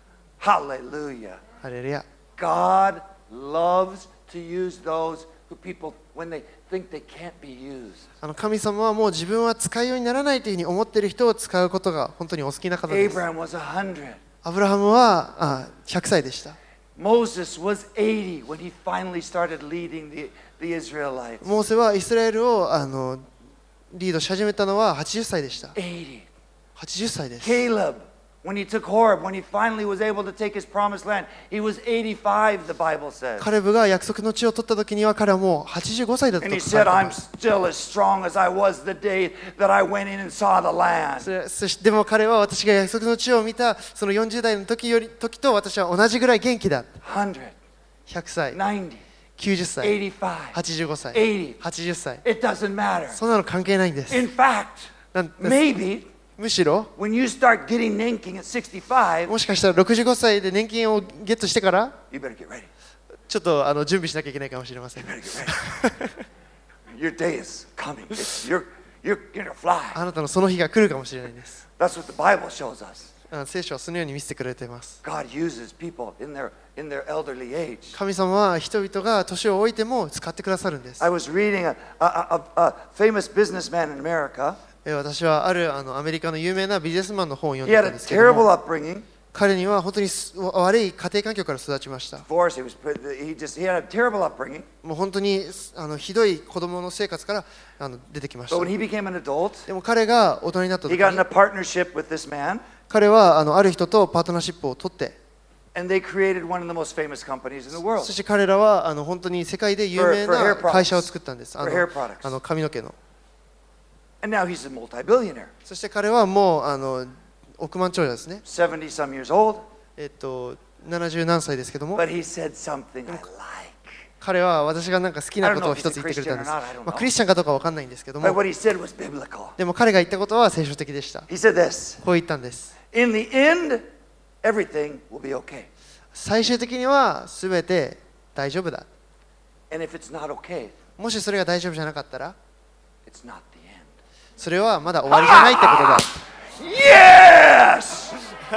S1: Hallelujah.
S2: ハレルヤ。
S1: God loves to use those who people, when they think they can't be used.
S2: あの神様はもう自分は使いようにならないというふうに思っている人を使うことが本当にお好きな方です。
S1: Abraham was one hundred.
S2: アブラハムはあひゃくさいでした。
S1: Moses was eighty when he finally started leading the, the Israelites.
S2: モーセはイスラエルをあのリードし始めたのははちじゅっさいでした。
S1: eighty.
S2: はちじゅっさいです。
S1: Caleb, when he took Horeb, when he finally was able to take his promised land, he was eighty-five, the Bible says.
S2: カレブが約束の地を取った時には彼はもうはちじゅうごさいだった
S1: And
S2: と
S1: he
S2: 書かれ
S1: said,
S2: てい
S1: I'm
S2: ます。
S1: still as strong as I was the day that I went in and saw the
S2: そ
S1: land.
S2: れそしてでも彼は私が約束の地を見たそのよんじゅう代の時より時と私は同じぐらい元気だ。
S1: one hundred,
S2: ひゃくさい、
S1: ninety,
S2: きゅうじゅっさい、
S1: eighty-five,
S2: はちじゅうごさい、
S1: eighty.
S2: はちじゅっさい。
S1: It doesn't matter.
S2: そんなの関係ないんです。
S1: In fact,
S2: なんです
S1: maybe
S2: むしろ
S1: when you start getting nanking at sixty-five,
S2: もしかしたらろくじゅうごさいで年金をゲットしてから
S1: you better get ready.
S2: ちょっとあの準備しなきゃいけないかもしれません。
S1: You better get ready. Your day is coming. It's, you're, you're going to fly.
S2: あなたのその日が来るかもしれないです。
S1: That's what the Bible shows us.
S2: あ聖書はそのように見せてくれています。
S1: God uses people in their, in their elderly age.
S2: 神様は人々が年を置いても使ってくださるんです。
S1: I was reading a, a, a, a famous businessman in America.
S2: え私はあるあのアメリカの有名なビジネスマンの本を読ん
S1: He
S2: で
S1: had
S2: たん
S1: a
S2: ですけども、
S1: terrible upbringing.
S2: 彼には本当にす悪い家庭環境から育ちました。
S1: Divorce. He was. He just. He had a terrible upbringing.
S2: もう本当にあのひどい子供の生活からあの出てきまし
S1: But
S2: た。
S1: when he became an adult,
S2: でも彼が大人になった
S1: he
S2: 時
S1: got in
S2: に
S1: a partnership with this man,
S2: 彼はあのある人とパートナーシップを取って、
S1: and they created one of the most famous companies in the world.
S2: そして彼らはあの本当に世界で有名
S1: For- for hair
S2: な
S1: products.
S2: 会社を作ったんです。あ
S1: For
S2: の
S1: hair products.
S2: あの髪の毛の。
S1: And now he's a multi-billionaire,
S2: そして彼はもうあの億万長者ですね。
S1: seventy some years old.
S2: えっとななじゅう何歳ですけども、
S1: But he said something I like.
S2: 彼は私がなんか好きなことを一つ言ってくれたんです。
S1: I don't know if he's a Christian or not, I don't know.
S2: まあ、クリスチャンかどうかわかんないんですけど
S1: But
S2: も、
S1: what he said was biblical.
S2: でも彼が言ったことは聖書的でした。
S1: He said this:
S2: こう言ったんです。
S1: In the end, everything will be okay.
S2: 最終的には全て大丈夫だ。
S1: And if it's not okay,
S2: もしそれが大丈夫じゃなかったら、
S1: it's not the end.
S2: それはまだ終わりじゃないってことだ。
S1: Yes!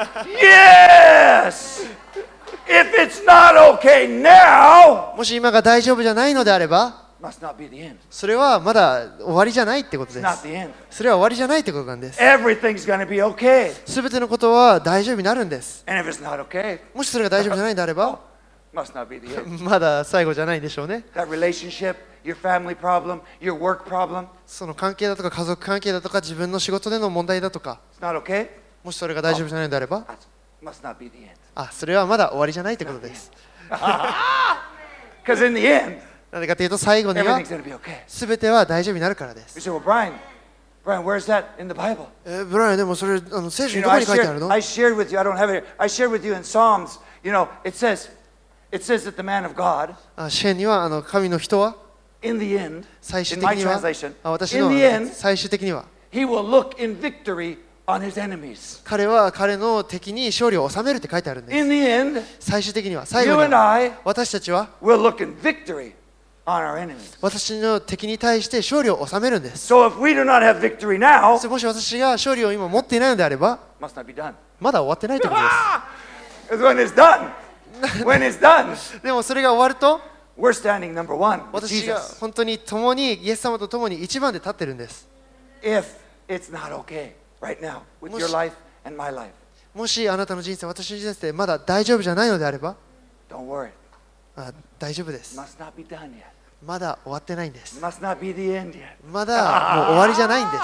S1: Yes! If it's not okay now,
S2: もし今が大丈夫じゃないのであれば、
S1: must not be the end.
S2: それはまだ終わりじゃないってこと
S1: It's
S2: で
S1: not
S2: す。
S1: the end.
S2: それは終わりじゃないってことなんです。
S1: Everything's going to be okay.
S2: すべてのことは大丈夫になるんです。
S1: And if it's not okay,
S2: もしそれが大丈夫じゃないんであれば、
S1: must not be the end.
S2: まだ最後じゃないでしょうね。
S1: That relationship, your family problem, your work problem,
S2: その関係だとか家族関係だとか自分の仕事での問題だとか、
S1: it's not okay,
S2: もしそれが大丈夫じゃないのであれば、
S1: that must not be the end.
S2: あ、それはまだ終わりじゃないってことです。
S1: Because in the end,
S2: なぜかというと最後には
S1: everything's going to be okay.
S2: すべては大丈夫になるからで
S1: You
S2: す。
S1: say, well, Brian, Brian, where's that in the Bible?
S2: えーブライアンでもそれあの聖書
S1: You
S2: に
S1: know,
S2: どこ
S1: I
S2: に書いてある
S1: shared,
S2: の？
S1: I shared with you, I don't have it here. I shared with you in Psalms, you know, it says, it says that the man of God,
S2: あ詩篇にはあの神の人は
S1: in the end,
S2: 最終
S1: in
S2: 的
S1: my
S2: には
S1: translation,
S2: あ私
S1: in
S2: の
S1: the end,
S2: 最終的には
S1: he will look in victory on his enemies.
S2: 彼は彼の敵に勝利を収めるって書いてあるんで
S1: In
S2: す。
S1: the end,
S2: 最終的には、最
S1: you
S2: 後に
S1: and
S2: は
S1: I
S2: 私たちは
S1: will look in victory on our enemies.
S2: 私の敵に対して勝利を収めるんです。
S1: So if we do not have victory now,
S2: もし私が勝利を今持っていないのであれば、
S1: must not be done.
S2: まだ終わってないということで
S1: Because when it's done, when it's done,
S2: す。でもそれが終わると、
S1: we're standing number one with
S2: 私が
S1: Jesus.
S2: 本当に共にイエス様と共に一番で立ってるんです。
S1: If it's not okay right now with your life and my life,
S2: もしあなたの人生、私の人生でまだ大丈夫じゃないのであれば、
S1: don't worry.
S2: あ大丈夫です。
S1: Must not be done yet.
S2: まだ終わってないんです。
S1: Must not be the end yet.
S2: まだもう終わりじゃないんです。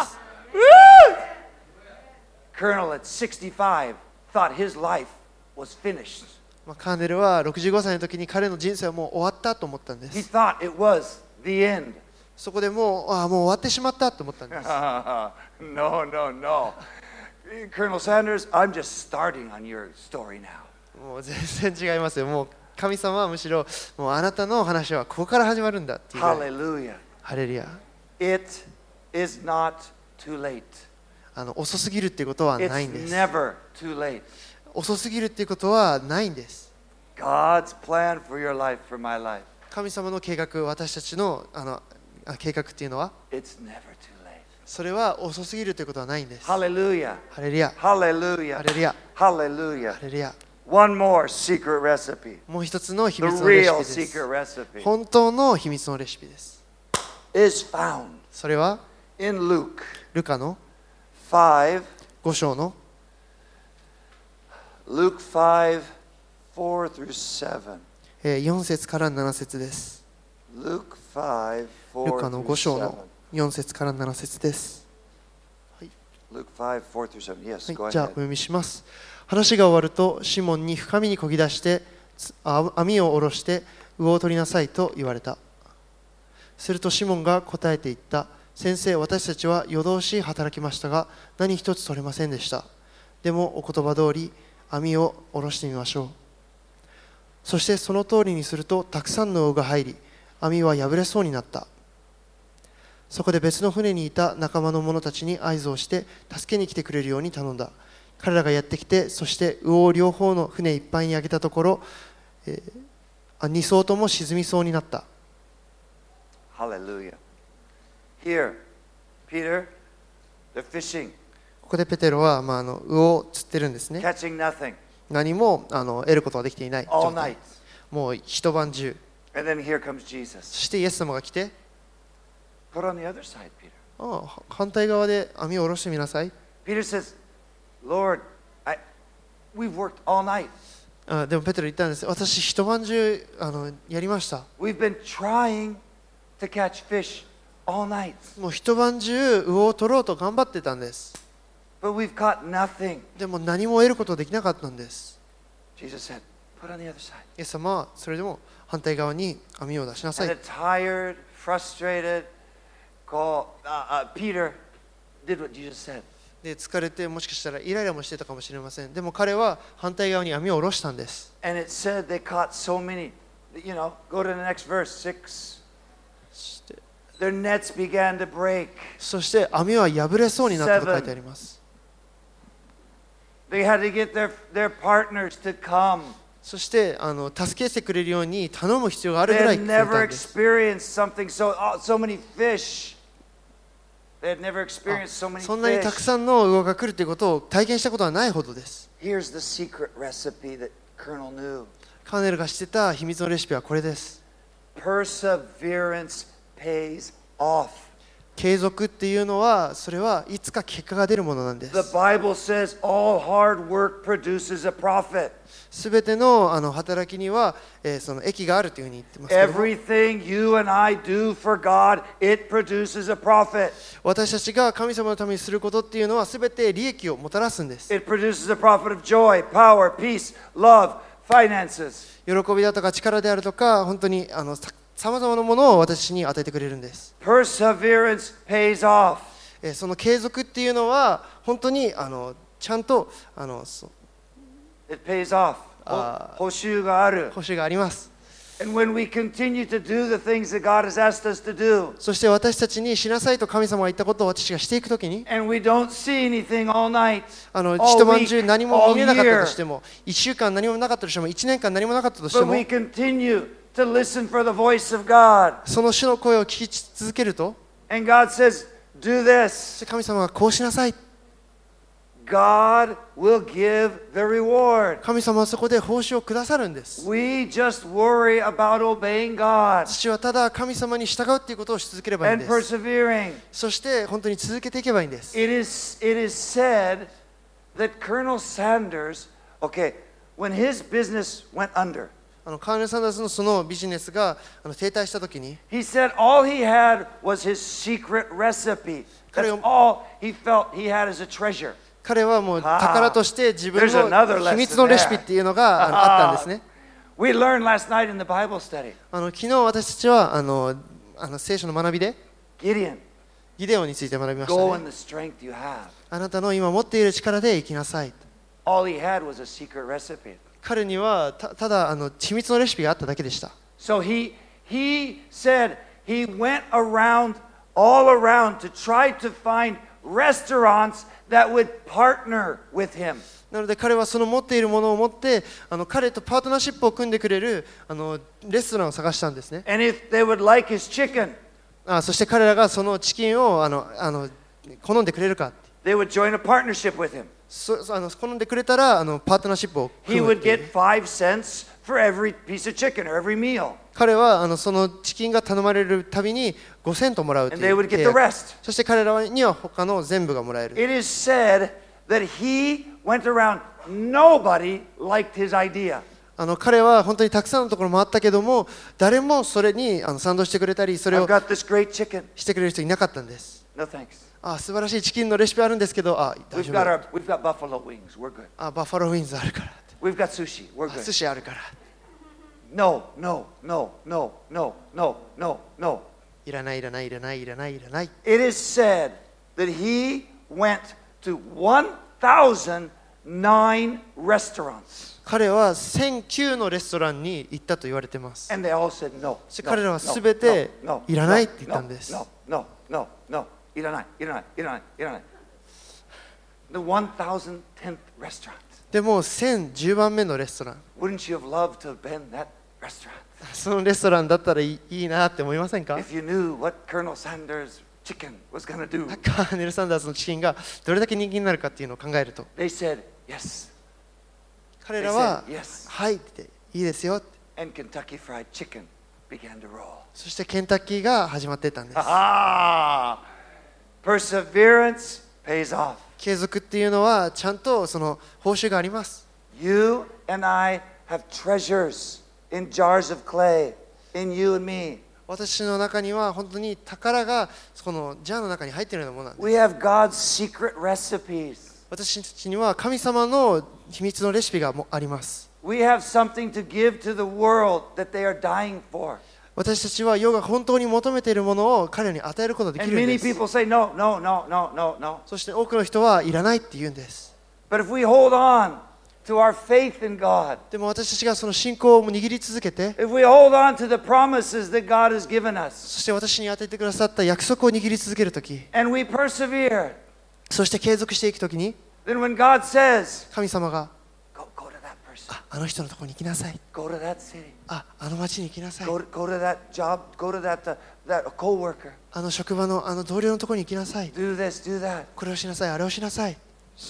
S1: Colonel at sixty-five thought his life was finished.
S2: まあカーネルはろくじゅうごさいの時に彼の人生はもう終わったと思ったんで
S1: He
S2: す。
S1: thought it was the end.
S2: そこでもう、ああ、もう終わってしまったと思ったんです。
S1: no, no, no. Colonel Sanders, I'm just starting on your story now.
S2: もう全然違いますよ。もう神様はむしろ、もうあなたの話はここから始まるんだっていうぐらい。
S1: Hallelujah.
S2: ハレルヤ。
S1: It is not too late.
S2: あの遅すぎるっていうことはないんで
S1: It's
S2: す。
S1: never too late.
S2: 遅すぎるっていうことはないんです。
S1: God's plan for your life, for my life.
S2: 神様の計画、私たちの、あのあ計画っていうのは、
S1: It's never too late.
S2: それは遅すぎるということはないんです。
S1: Hallelujah.
S2: ハレルヤ。
S1: Hallelujah.
S2: ハレルヤ。
S1: Hallelujah.
S2: ハレルヤ。
S1: One more secret recipe.
S2: もう一つの秘
S1: The
S2: 密のレシ
S1: real
S2: ピです
S1: secret。recipe
S2: 本当の秘密のレシピです。
S1: is found
S2: それは
S1: in Luke
S2: ルカの
S1: five,
S2: ご章の
S1: Luke five, four through seven.
S2: えーよん節からなな節です。
S1: Luke five,
S2: ル
S1: four
S2: カの
S1: through
S2: ご章
S1: seven.
S2: のよん節からなな節です。
S1: Luke five, four through seven. Yes,
S2: はい
S1: go
S2: じゃあお
S1: ahead.
S2: 読みします。話が終わるとシモンに深みにこぎ出してつあ網を下ろして魚を取りなさいと言われた。するとシモンが答えて言った。先生、私たちは夜通し働きましたが何一つ取れませんでした。でもお言葉通り網を下ろしてみましょう。そしてその通りにするとたくさんの魚が入り網は破れそうになった。そこで別の船にいた仲間の者たちに合図をして助けに来てくれるように頼んだ。彼らがやってきて、そして魚を両方の船いっぱいに上げたところ、えー、に艘とも沈みそうになった。
S1: Hallelujah. Here, Peter, they're fishing,
S2: ここでペテロは、まあ、あの魚を釣ってるんですね。
S1: catching nothing
S2: 何もあの得ることができていない
S1: all
S2: 状態
S1: night.
S2: もう一晩中。
S1: And then here comes Jesus.
S2: そしてイエス様が来て、
S1: Put on the other side, Peter.
S2: ああ反対側で網を下ろしてみなさい。
S1: Peter says, Lord, I, we've worked all night.
S2: あでもペテロ言ったんです。私一晩中あのやりました。
S1: We've been trying to catch fish all night,
S2: もう一晩中魚を取ろうと頑張ってたんです。
S1: but we've caught nothing.
S2: でも何も得ることができなかったんです。
S1: Jesus said, put on the other side.
S2: イエス様はそれでも反対側に網を出しなさ
S1: And
S2: い。
S1: a tired, frustrated, call, uh, uh, Peter did what Jesus said.
S2: で疲れてもしかしたらイライラもしてたかもしれません。でも彼は反対側に網を下ろしたんです。
S1: And it said they caught so many. You know, go to the next verse, six.
S2: そして
S1: Their nets began to break.
S2: そして網は破れそうになったと書いてあります。
S1: They had to get their, their partners to come.
S2: そしてあの助けてくれるように頼む必要がある
S1: They
S2: ぐらい
S1: had
S2: 来ていた
S1: never
S2: んです。
S1: experienced something so, oh, so many fish. They had never experienced so many
S2: そんなにたく
S1: fish.
S2: さんの魚が来るということを体験したことはないほどです。
S1: Here's the secret recipe that Colonel knew.
S2: カーネルが知ってた秘密のレシピはこれです。
S1: Perseverance pays off.
S2: 継続っていうのはそれはいつか結果が出るものなんで
S1: The
S2: す。
S1: Bible says all hard work produces a profit.
S2: すべてのあの働きには、えーその益があるというふうに言ってますけども、
S1: Everything you and I do for God, it produces a profit.
S2: 私たちが神様のためにすることっていうのはすべて利益をもたらすんです。
S1: It produces a profit of joy, power, peace, love, finances.
S2: 喜びだとか力であるとか本当にあのさまざまなものを私に与えてくれるんです。
S1: Perseverance pays off.
S2: えーその継続っていうのは本当にあのちゃんとあのそう
S1: It pays off.
S2: あー
S1: 報酬がある。
S2: 報酬があります。
S1: And when we continue to do the things that God has asked us to do,
S2: そして私たちにしなさいと神様が言ったことを私がしていくときに、
S1: and we don't see anything all night,
S2: あの
S1: all
S2: 一晩
S1: week,
S2: 中何も
S1: all
S2: 見れなかった
S1: year,
S2: としても、いっしゅうかん何もなかったとしても、いちねんかん何もなかったとして
S1: but
S2: も、
S1: we continue to listen for the voice of God.
S2: その主の声を聞き続けると、
S1: And God says, do
S2: そし
S1: this.
S2: て神様がこうしなさい。
S1: God will give the reward.
S2: 神様はそこで報酬をくださるんです。
S1: We just worry about obeying God
S2: 父はただ神様に従うっていうことをし続ければいいん
S1: and
S2: です。
S1: persevering.
S2: そして本当に続けていけばいいんです。
S1: It is, it is said that Colonel Sanders, okay, when his business went under,
S2: あのカーネル・サンダースのそのビジネスがあの停滞したときに、
S1: he said all he had was his secret recipe. That's
S2: Kare-
S1: all he felt he had as a treasure.
S2: 彼はもう宝として自分
S1: There's another
S2: の
S1: lesson
S2: 秘密のレシピっていうのがあのあったんですね。
S1: We learned last night in the Bible study.
S2: あの昨日私たちはあのあの聖書の学びで
S1: Gideon,
S2: ギデオンについて学びまし
S1: go
S2: た
S1: in
S2: ね。
S1: the strength you have.
S2: あなたの今持っている力で生きなさい。
S1: All he had was a secret recipe.
S2: 彼にはたただあの秘密のレシピがあっただけでした。
S1: So he he said he went around all around to try to find restaurants that would partner with him.
S2: なので彼はその持っているものを持ってあの彼とパートナーシップを組んでくれるあのレストランを探したんですね。
S1: And if they would like his chicken,
S2: あそして彼らがそのチキンをあのあの好んでくれるか、
S1: they would join a partnership with him.
S2: そそあの好んでくれたらあのパートナーシップを
S1: He
S2: 組むっ
S1: would
S2: ていう
S1: get five cents for every piece of chicken or every meal.
S2: 彼はあのそのチキンが頼まれるたびにごセントもらうと
S1: And
S2: い
S1: they
S2: う
S1: would get
S2: 契
S1: the
S2: 約。
S1: rest.
S2: そして彼らには他の全部がもらえる。
S1: It is said that he went around, nobody liked his idea.
S2: あの彼は本当にたくさんのところもあったけども、誰もそれにあの賛同してくれたり、それ
S1: I've
S2: を
S1: got this great chicken.
S2: してくれる人いなかったんです。
S1: No thanks.
S2: あ素晴らしいチキンのレシピあるんですけど、あ大
S1: We've
S2: 丈
S1: got
S2: 夫。
S1: our we've got buffalo wings. We're good.
S2: あバッファローウィンズあるから。
S1: We've got sushi. We're
S2: あ
S1: good.
S2: 寿司あるから。
S1: No, no, no, no, no, no, no, no.
S2: いらないいらないいらないいらないいらない。
S1: It is said that he went to one thousand nine restaurants.
S2: 彼はせんきゅうのレストランに行ったと言われてます。
S1: And they all said no.
S2: そして
S1: no,
S2: 彼らは
S1: no,
S2: すべて
S1: no, no,
S2: いらない
S1: no,
S2: って言ったんです。
S1: No, no, no, no, いらない、いらない、いらない、いらない。The one thousand tenth restaurant.
S2: でもせんじゅうばんめのレストラン。
S1: Wouldn't you have loved to have been that restaurant?
S2: そのレストランだったらいい、いいなって思いませんか？
S1: If you knew what Colonel Sanders' chicken was going to do.
S2: カーネル・サンダースのチキンがどれだけ人気になるかっていうのを考えると、
S1: They said yes.
S2: 彼らは
S1: They said yes.
S2: はいっていいですよって。
S1: And Kentucky Fried Chicken began to roll.
S2: そしてケンタッキーが始まっていったんです。
S1: Ah, perseverance pays off.
S2: 継続っていうのはちゃんとその報酬があります。
S1: You and I have treasures in jars of clay in you and me.
S2: 私の中には本当に宝がこのジャーの中に入っているようなものなんです。
S1: We have God's secret recipes.
S2: 私たちには神様の秘密のレシピがもあります。
S1: We have something to give to the world that they are dying for.
S2: 私たちは世が本当に求めているものを彼らに与えることができ
S1: And
S2: るん
S1: many
S2: です。
S1: people say, no, no, no, no, no, no.
S2: そして多くの人はいらないって言うんです。
S1: But if we hold on to our faith in God,
S2: でも私たちがその信仰を握り続けて、
S1: if we hold on to the promises that God has given us,
S2: そして私に与えてくださった約束を握り続けるとき、
S1: and we persevere,
S2: そして継続していくときに、
S1: then when God says,
S2: 神様が
S1: go, go to that person,
S2: あ、あの人のところに行きなさい。
S1: go to that city,
S2: あ、あの町に行きなさい。
S1: go to, go to that job, go to that, uh, that coworker,
S2: あの職場のあの同僚のところに行きなさい。
S1: do this, do that.
S2: これをしなさい、あれをしなさい。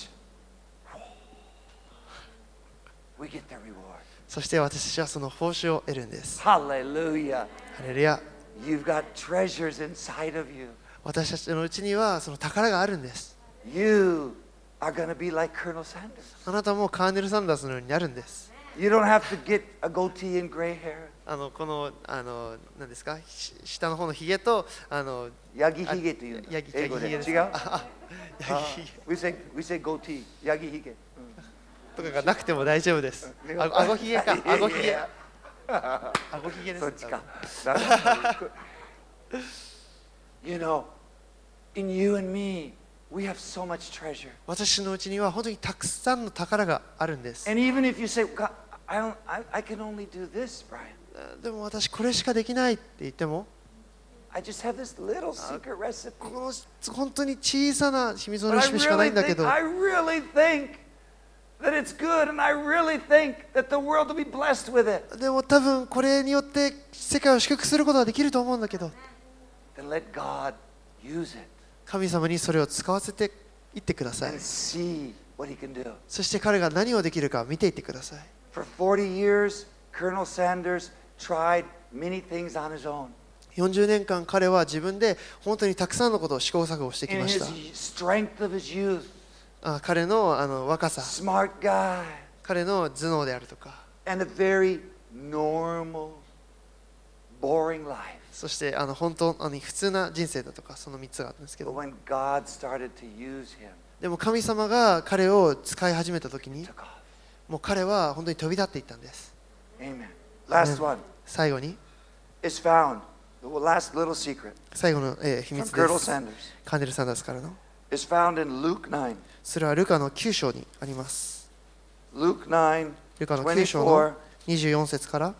S1: We get the reward.
S2: そして私たちはその報酬を得るんです。
S1: Hallelujah.
S2: ハレルヤ。
S1: You've got treasures inside of you.
S2: 私たちのうちにはその宝があるんです。
S1: You are going to be like Colonel Sanders.
S2: あなたもカーネル・サンダースのようになるんです。
S1: You don't have to get a goatee and gray hair.
S2: あのこのあの何ですか、し下の方のひげとあの
S1: ヤギひげというの。
S2: ヤギ
S1: 英語で。
S2: ヤギひげです。
S1: 違う？
S2: ああヤギひげ
S1: We say, we say goatee. ヤギひげ。
S2: とかがなくても大丈夫です。
S1: うん
S2: あ顎ひげか、顎ひげ。
S1: いやいや
S2: 顎ひげです。
S1: そっちか。You know, in you and me, we have so much treasure.
S2: 私のうちには本当にたくさんの宝があるんです。
S1: And even if you say, God, I, don't, I, I can only do this, Brian.
S2: でも私これしかできないって言っても、
S1: I just have this little secret recipe.
S2: この本当に小さな秘密の
S1: But
S2: レ
S1: I
S2: シピしかない
S1: really
S2: んだけ
S1: think,
S2: ど、
S1: I really think that it's good, and I really think that the world will be blessed with it.
S2: でも多分これによって世界を祝福することができると思うんだけど、
S1: Then let God use it
S2: 神様にそれを使わせていってください。
S1: and see what He can do.
S2: そして彼が何をできるか見ていってください。
S1: For forty years, Colonel Sanders tried many things on his own.
S2: よんじゅうねんかん彼は自分で本当にたくさんのことを試行錯誤してき
S1: In
S2: まし
S1: his
S2: た。
S1: strength of his youth,
S2: あ彼のあの若さ、
S1: smart guy,
S2: 彼の頭脳であるとか、
S1: and a very normal, boring life.
S2: そしてあの本当あの普通な人生だとか、そのみっつがあったんですけ
S1: But
S2: ど、
S1: when God started to use him,
S2: でも神様が彼を使い始めた時に、
S1: he took off.
S2: もう彼は本当に飛び立っていったんです。
S1: Amen. Last one
S2: 最後に、
S1: is found, the last little secret
S2: 最後の、えー秘
S1: from
S2: 密で
S1: Colonel
S2: す。
S1: Sanders
S2: カンデル・サンダースからの、
S1: is found in Luke nine.
S2: それはルカのきゅう章にあります。
S1: Luke nine,
S2: ルカのきゅう章の
S1: twenty-four,
S2: にじゅうよん節から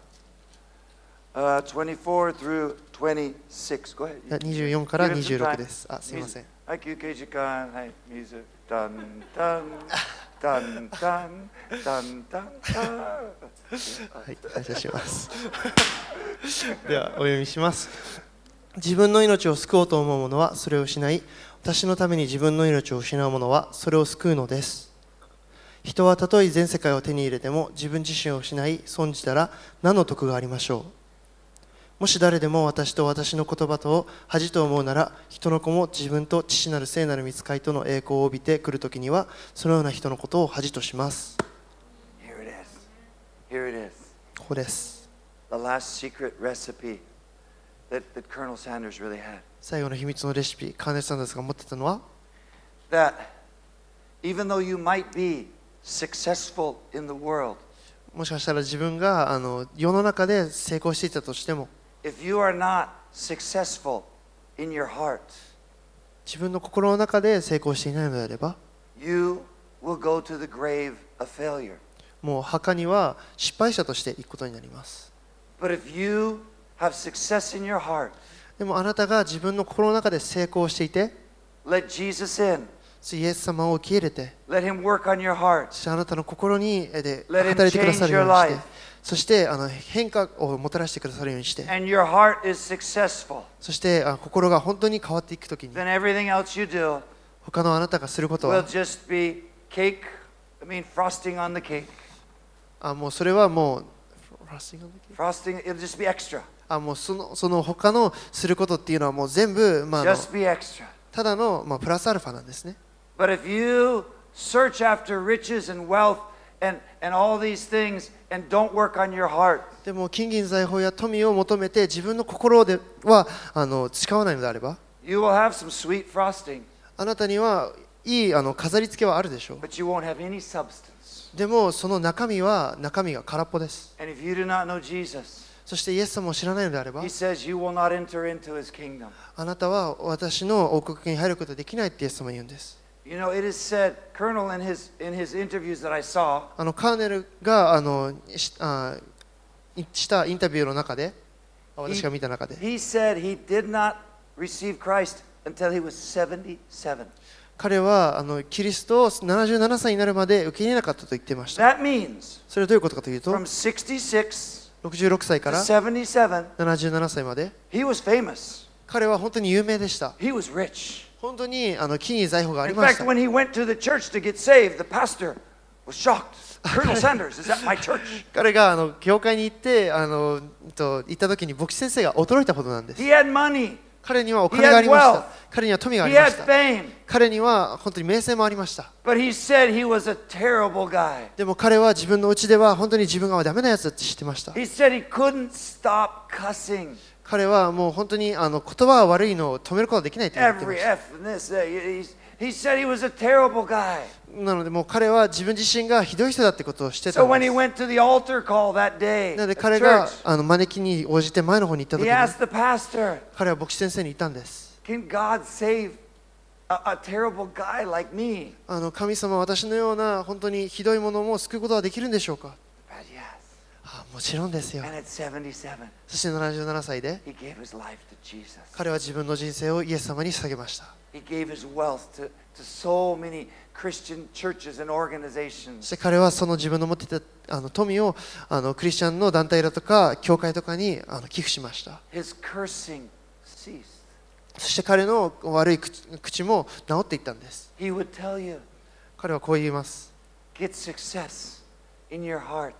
S1: uh, twenty-four through twenty-six. Go ahead.
S2: いやにじゅうよんから
S1: Give it some
S2: にじゅうろく
S1: time.
S2: です。あ、すみません。
S1: はい、休憩時間。はい、水。ダンダンダンダンダンダンダン。
S2: はい、感謝します。ではお読みします。自分の命を救おうと思う者はそれを失い、私のために自分の命を失う者はそれを救うのです。人はたとえ全世界を手に入れても自分自身を失い損じたら何の得がありましょう。もし誰でも私と私の言葉とを恥と思うなら、人の子も自分と父なる聖なる御使いとの栄光を帯びてくるときには、そのような人のことを恥とします。
S1: Here it is. Here it is.
S2: ここです。
S1: The last secret recipe that, that Colonel Sanders really had.
S2: 最後の秘密のレシピ、カーネル・サンダースが持ってたのは、
S1: That even though you might be successful in the world,
S2: もしかしたら自分があの世の中で成功していたとしても、
S1: if you are not successful in your heart,
S2: 自分の心の中で成功していないのであれば、
S1: you will go to the grave of failure.
S2: もう墓には失敗者として行くことになります。
S1: But if you have success in your heart,
S2: でもあなたが自分の心の中で成功していて、
S1: let Jesus in.
S2: イエス様を受け入れて、
S1: Let him work on your heart.
S2: そしてあなたの心にえで
S1: Let him
S2: 働いてくださるように
S1: change
S2: し
S1: your
S2: て
S1: life.、
S2: そしてあの変化をもたらしてくださるようにして、
S1: And your heart is successful.
S2: そしてあ心が本当に変わっていくときに、
S1: Then everything else you do
S2: 他のあなたがすること
S1: will
S2: は、
S1: just be cake. I mean, frosting on the cake.
S2: あもうそれはもう、
S1: Frosting, it'll just be extra.
S2: あもうそのその他のすることっていうのはもう全部、まあ、あの
S1: Just be extra.
S2: ただの、まあ、プラスアルファなんですね。
S1: But if you search after riches and wealth and, and all these things and don't work on your heart,
S2: でも金銀財宝や富を求めて自分の心ではあの誓わないのであれば、
S1: you will have some sweet frosting,
S2: あなたにはいいあの飾り付けはあるでしょう。
S1: but you won't have any substance.
S2: でもその中身は中身が空っぽです。
S1: And if you do not know Jesus,
S2: そしてイエス様を知らないのであれば、
S1: he says you will not enter into his kingdom.
S2: あなたは私の王国に入ることができないってイエス様は言うんです。
S1: You know, it is said, Colonel, in his, in his interviews that I saw,
S2: あのカーネルがあのしあしたインタビューの中で、あ私が見た中で、
S1: he said he did not receive Christ until he was seventy-seven.
S2: 彼はあのキリストをななじゅうななさいになるまで受け入れなかったと言っていました。
S1: That means
S2: それはどういうことかというと、
S1: from sixty-six
S2: ろくじゅうろくさいか
S1: to
S2: ら
S1: seventy-seven,
S2: ななじゅうななさいまで
S1: he was famous.
S2: 彼は本当に有名でした。
S1: He was rich.
S2: 本当にあの木に財宝があり
S1: In
S2: まし
S1: fact,
S2: た。
S1: when he went to the church to get saved, the pastor was shocked. Colonel Sanders is at my church.
S2: 彼があの教会に行ってあのと行った時に牧師先生が驚いたことなんです。
S1: He had money.
S2: 彼にはお金がありまし
S1: He had wealth.
S2: た。彼には富があ
S1: He
S2: りま
S1: had
S2: した。
S1: fame.
S2: 彼には本当に名声もありました。
S1: But he said he was a terrible guy.
S2: でも彼は自分のうちでは本当に自分がダメなやつだって知ってました。
S1: He said he couldn't stop cussing.
S2: 彼はもう本当にあの言葉が悪いのを止めることができないと言ってま
S1: Every
S2: した。
S1: F and this. Uh, he, he said he was a terrible guy.
S2: なのでもう彼は自分自身がひどい人だってことをしてた
S1: So
S2: ん
S1: when
S2: で
S1: he
S2: す。
S1: went to the altar call that day
S2: なので
S1: at
S2: 彼が
S1: church,
S2: あの招きに応じて前の方に行った時
S1: he
S2: に
S1: asked the pastor,
S2: 彼は牧師先生に言ったんです。
S1: can God save a, a terrible guy like me?
S2: あの神様は私のような本当にひどいものも救うことはできるんでしょうか。
S1: But yes.
S2: あもちろんですよ。
S1: And at seventy-seven,
S2: そしてななじゅうななさいで
S1: he gave his life to Jesus.
S2: 彼は自分の人生をイエス様に捧げました。
S1: He gave his wealth to, to so many Christian churches and
S2: そ
S1: organizations.
S2: して彼はその自分の持っていたあの富をあのクリスチャンの団体だとか教会とかにあの寄付しました。
S1: His cursing ceased.
S2: そして彼の悪い口口も治っていったんです。
S1: He would tell you,
S2: 彼はこう言います。
S1: get success in your heart.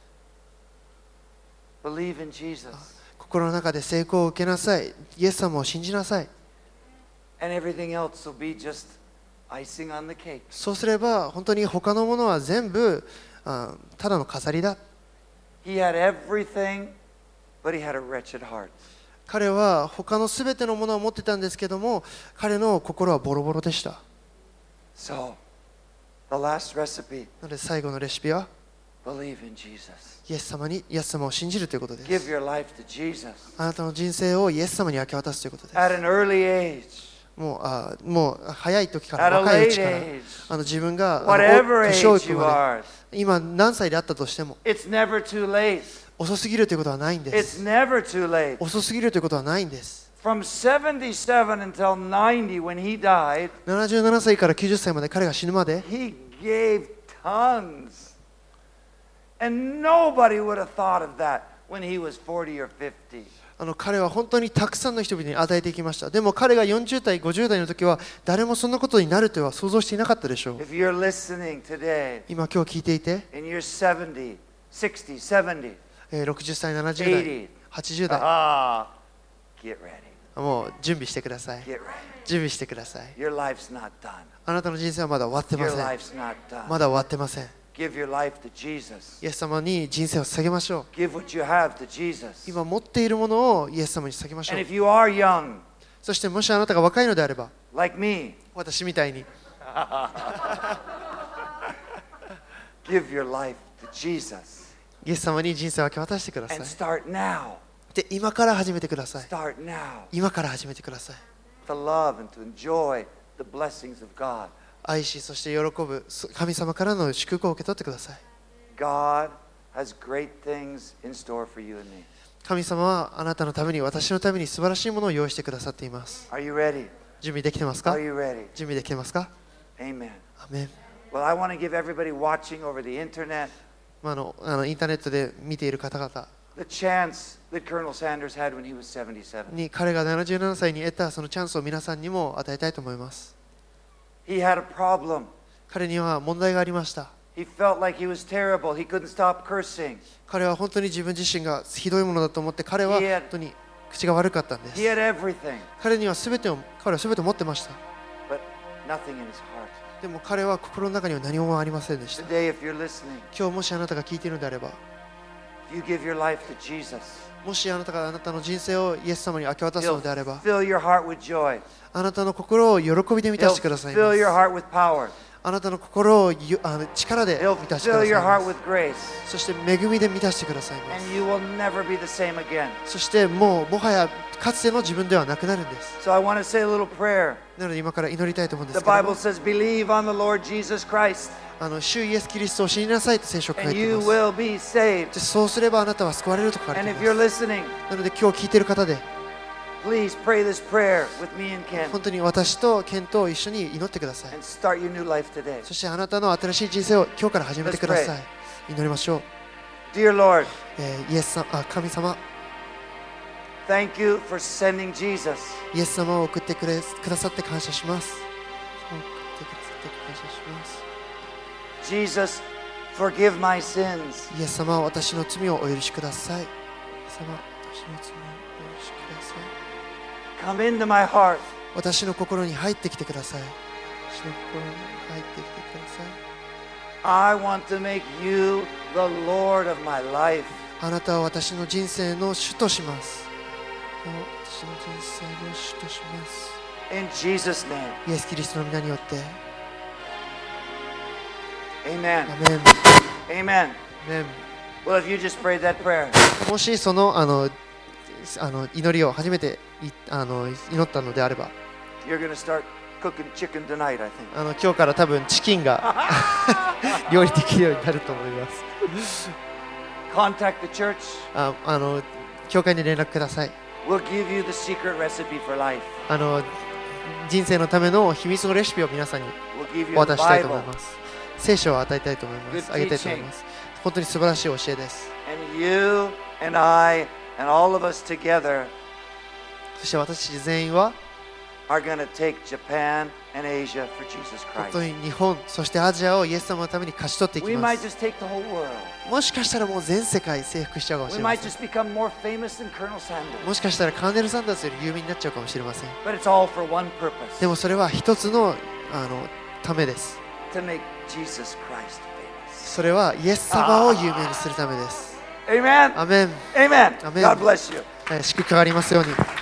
S1: Believe in Jesus.
S2: 心の中で成功を受けなさい。イエス様を信じなさい。
S1: And everything else will be just icing on the cake.
S2: そうすれば本当に他のものは全部あただの飾りだ。
S1: He had everything, but he had a wretched heart.
S2: 彼は他のすべてのものを持ってたんですけども、彼の心はボロボロでした。
S1: So, the last recipe,
S2: なので最後のレシピは
S1: believe in Jesus.
S2: イエス様にイエス様を信じるということで
S1: Give
S2: す。
S1: your life to Jesus.
S2: あなたの人生をイエス様に明け渡すということです。
S1: At an early age,
S2: もうあもう早い時から
S1: at a
S2: 若いう
S1: late
S2: ちから
S1: age,
S2: あの自分があの
S1: whatever
S2: 年老い
S1: age
S2: く
S1: you
S2: まで
S1: are,
S2: 今何歳であったとしても
S1: it's never too late.
S2: 遅すぎるということはないんで
S1: It's
S2: す。
S1: never too late.
S2: 遅すぎるということはないんです。
S1: From seventy-seven until ninety, when he died,
S2: ななじゅうななさいからきゅうじゅっさいまで彼が死ぬまで
S1: he gave tons. And nobody would have thought of that when he was forty or fifty.
S2: あの彼は本当にたくさんの人々に与えていきました。でも彼がよんじゅうだいごじゅうだいの時は誰もそんなことになるとは想像していなかったでしょう。
S1: If you're listening today,
S2: 今今日聞いていて
S1: and you're seventy, sixty, seventy,
S2: えーろくじゅっさいななじゅうだい
S1: eighty,
S2: はちじゅうだい
S1: ah, get ready.
S2: もう準備してください。
S1: Get ready.
S2: 準備してください。
S1: Your life's not done.
S2: あなたの人生はまだ終わってま
S1: Your
S2: せん。
S1: life's not done.
S2: まだ終わってません。
S1: Give your life to Jesus.
S2: イエス様に人生を捧げましょう。
S1: Give what you have to Jesus.
S2: 今持っているものをイエス様に捧げましょ
S1: And
S2: う。
S1: if you are young,
S2: そしてもしあなたが若いのであれば
S1: like me,
S2: 私みたいに
S1: give your life to Jesus.
S2: イエス様に人生を明け渡してください
S1: And。start now.
S2: で今から始めてください。
S1: Start now
S2: 今から始めてください。
S1: to love and to enjoy the blessings of God.
S2: 愛しそして喜ぶ神様からの祝福を受け取ってください。
S1: God has great things in store for you and me.
S2: 神様はあなたのために私のために素晴らしいものを用意してくださっています。
S1: Are you ready?
S2: 準備できてますか？
S1: Are you ready?
S2: 準備できてますか？
S1: Amen.
S2: アメン。
S1: Well, I want to give everybody watching over the internet
S2: まあ、あのあのインターネットで見ている方々
S1: the chance that Colonel Sanders had when he was seventy-seven.
S2: に彼がななじゅうななさいに得たそのチャンスを皆さんにも与えたいと思います。
S1: He had a problem.
S2: 彼には問題がありました。
S1: He felt like he was terrible. He couldn't stop cursing.
S2: 彼は本当に自分自身がひどいものだと思って彼は
S1: He had-
S2: 本当に口が悪かったんで
S1: He
S2: す。
S1: had everything,
S2: 彼には全てを彼は全て持ってました。
S1: but nothing in his heart.
S2: でも彼は心の中には何もありませんでした。
S1: Today, if you're listening,
S2: 今日もしあなたが聞いているのであれば
S1: if you give your life to Jesus,
S2: もしあなたがあなたの人生をイエス様に明け渡す
S1: He'll
S2: のであれば
S1: fill your heart with joy.
S2: あなたの心を喜びで満た
S1: He'll
S2: してください
S1: fill
S2: ま
S1: your
S2: す。
S1: heart with power.
S2: あなたの心をゆあの力で
S1: He'll
S2: 満たしてく
S1: fill
S2: だ
S1: your
S2: さいま
S1: heart
S2: す。
S1: with grace.
S2: そして恵みで満たしてくださいま
S1: And
S2: す。
S1: you will never be the same again.
S2: そしてもうもはやかつての自分ではなくなるんです。
S1: So I want to say a little prayer.
S2: なので今から祈りたいと思うんで
S1: The
S2: すけど
S1: Bible
S2: も
S1: says, believe on the Lord Jesus Christ,
S2: あの主イエス・キリストを信じなさいと聖書が書
S1: and
S2: いてい
S1: you
S2: ます。
S1: will be saved.
S2: でそうすればあなたは救われると書かれ
S1: And
S2: て
S1: if
S2: い
S1: you're
S2: ます。
S1: listening,
S2: なので今日聞いている方で
S1: please pray this prayer with me and Ken
S2: 本当に私とケンと一緒に祈ってください。
S1: and start your new life today.
S2: そしてあなたの新しい人生を今日から始めてください。祈りましょう。
S1: Dear Lord,
S2: えーイエス様あ神様
S1: thank you for sending Jesus.
S2: イエス様を送ってくれくださって感謝します。送ってくださって感謝します。
S1: Jesus, forgive my sins.
S2: イエス様は私の罪をお許しください。イエス様私の罪をお許しください。
S1: Come into my heart.
S2: 私の心に入ってきてください。私の心に入ってきてください。
S1: I want to make you the Lord of my life.
S2: あなたは私の人生の主とします。私の人生の主とします。
S1: In Jesus' name.
S2: イエス・キリストの皆によって。
S1: Amen.
S2: アメン。
S1: Amen.
S2: アメン。
S1: Well, if you just prayed that prayer,
S2: もしそのあのあの祈りを初めていあの祈ったのであれば、
S1: you're going to start cooking chicken tonight, I think.
S2: あの今日から多分チキンが料理できるようになると思います。
S1: contact the church.
S2: ああの教会に連絡ください。
S1: We'll give you the secret recipe for life.
S2: あの人生のための秘密のレシピを皆さんに
S1: We'll give
S2: お
S1: you
S2: 渡
S1: the
S2: ししたいと思い
S1: Bible.
S2: ます。聖書を与えたいと思います。
S1: Good
S2: あげたいと思います。本当に素晴らしい教えです。
S1: And you and I and all of us together
S2: そして私たち全員は
S1: are going to take Japan and Asia for Jesus
S2: 本当
S1: Christ.
S2: に日本、そしてアジアをイエス様のために勝ち取っていき
S1: We
S2: ま
S1: might
S2: す。
S1: just take the whole world.
S2: もしかしたらもう全世界征服しちゃうかもし
S1: We
S2: れま
S1: might
S2: せん。
S1: just become more famous than Colonel
S2: も
S1: Sanders.
S2: しかしたらカーネル・サンダースより有名になっちゃうかもしれません。
S1: But it's all for one purpose.
S2: でもそれは一つのあのためです。
S1: To make Jesus Christ famous.
S2: それはイエス様を有名にするためです。
S1: Amen.
S2: アメン。
S1: Amen.
S2: Amen.
S1: God bless you.
S2: えー祝福がありますように。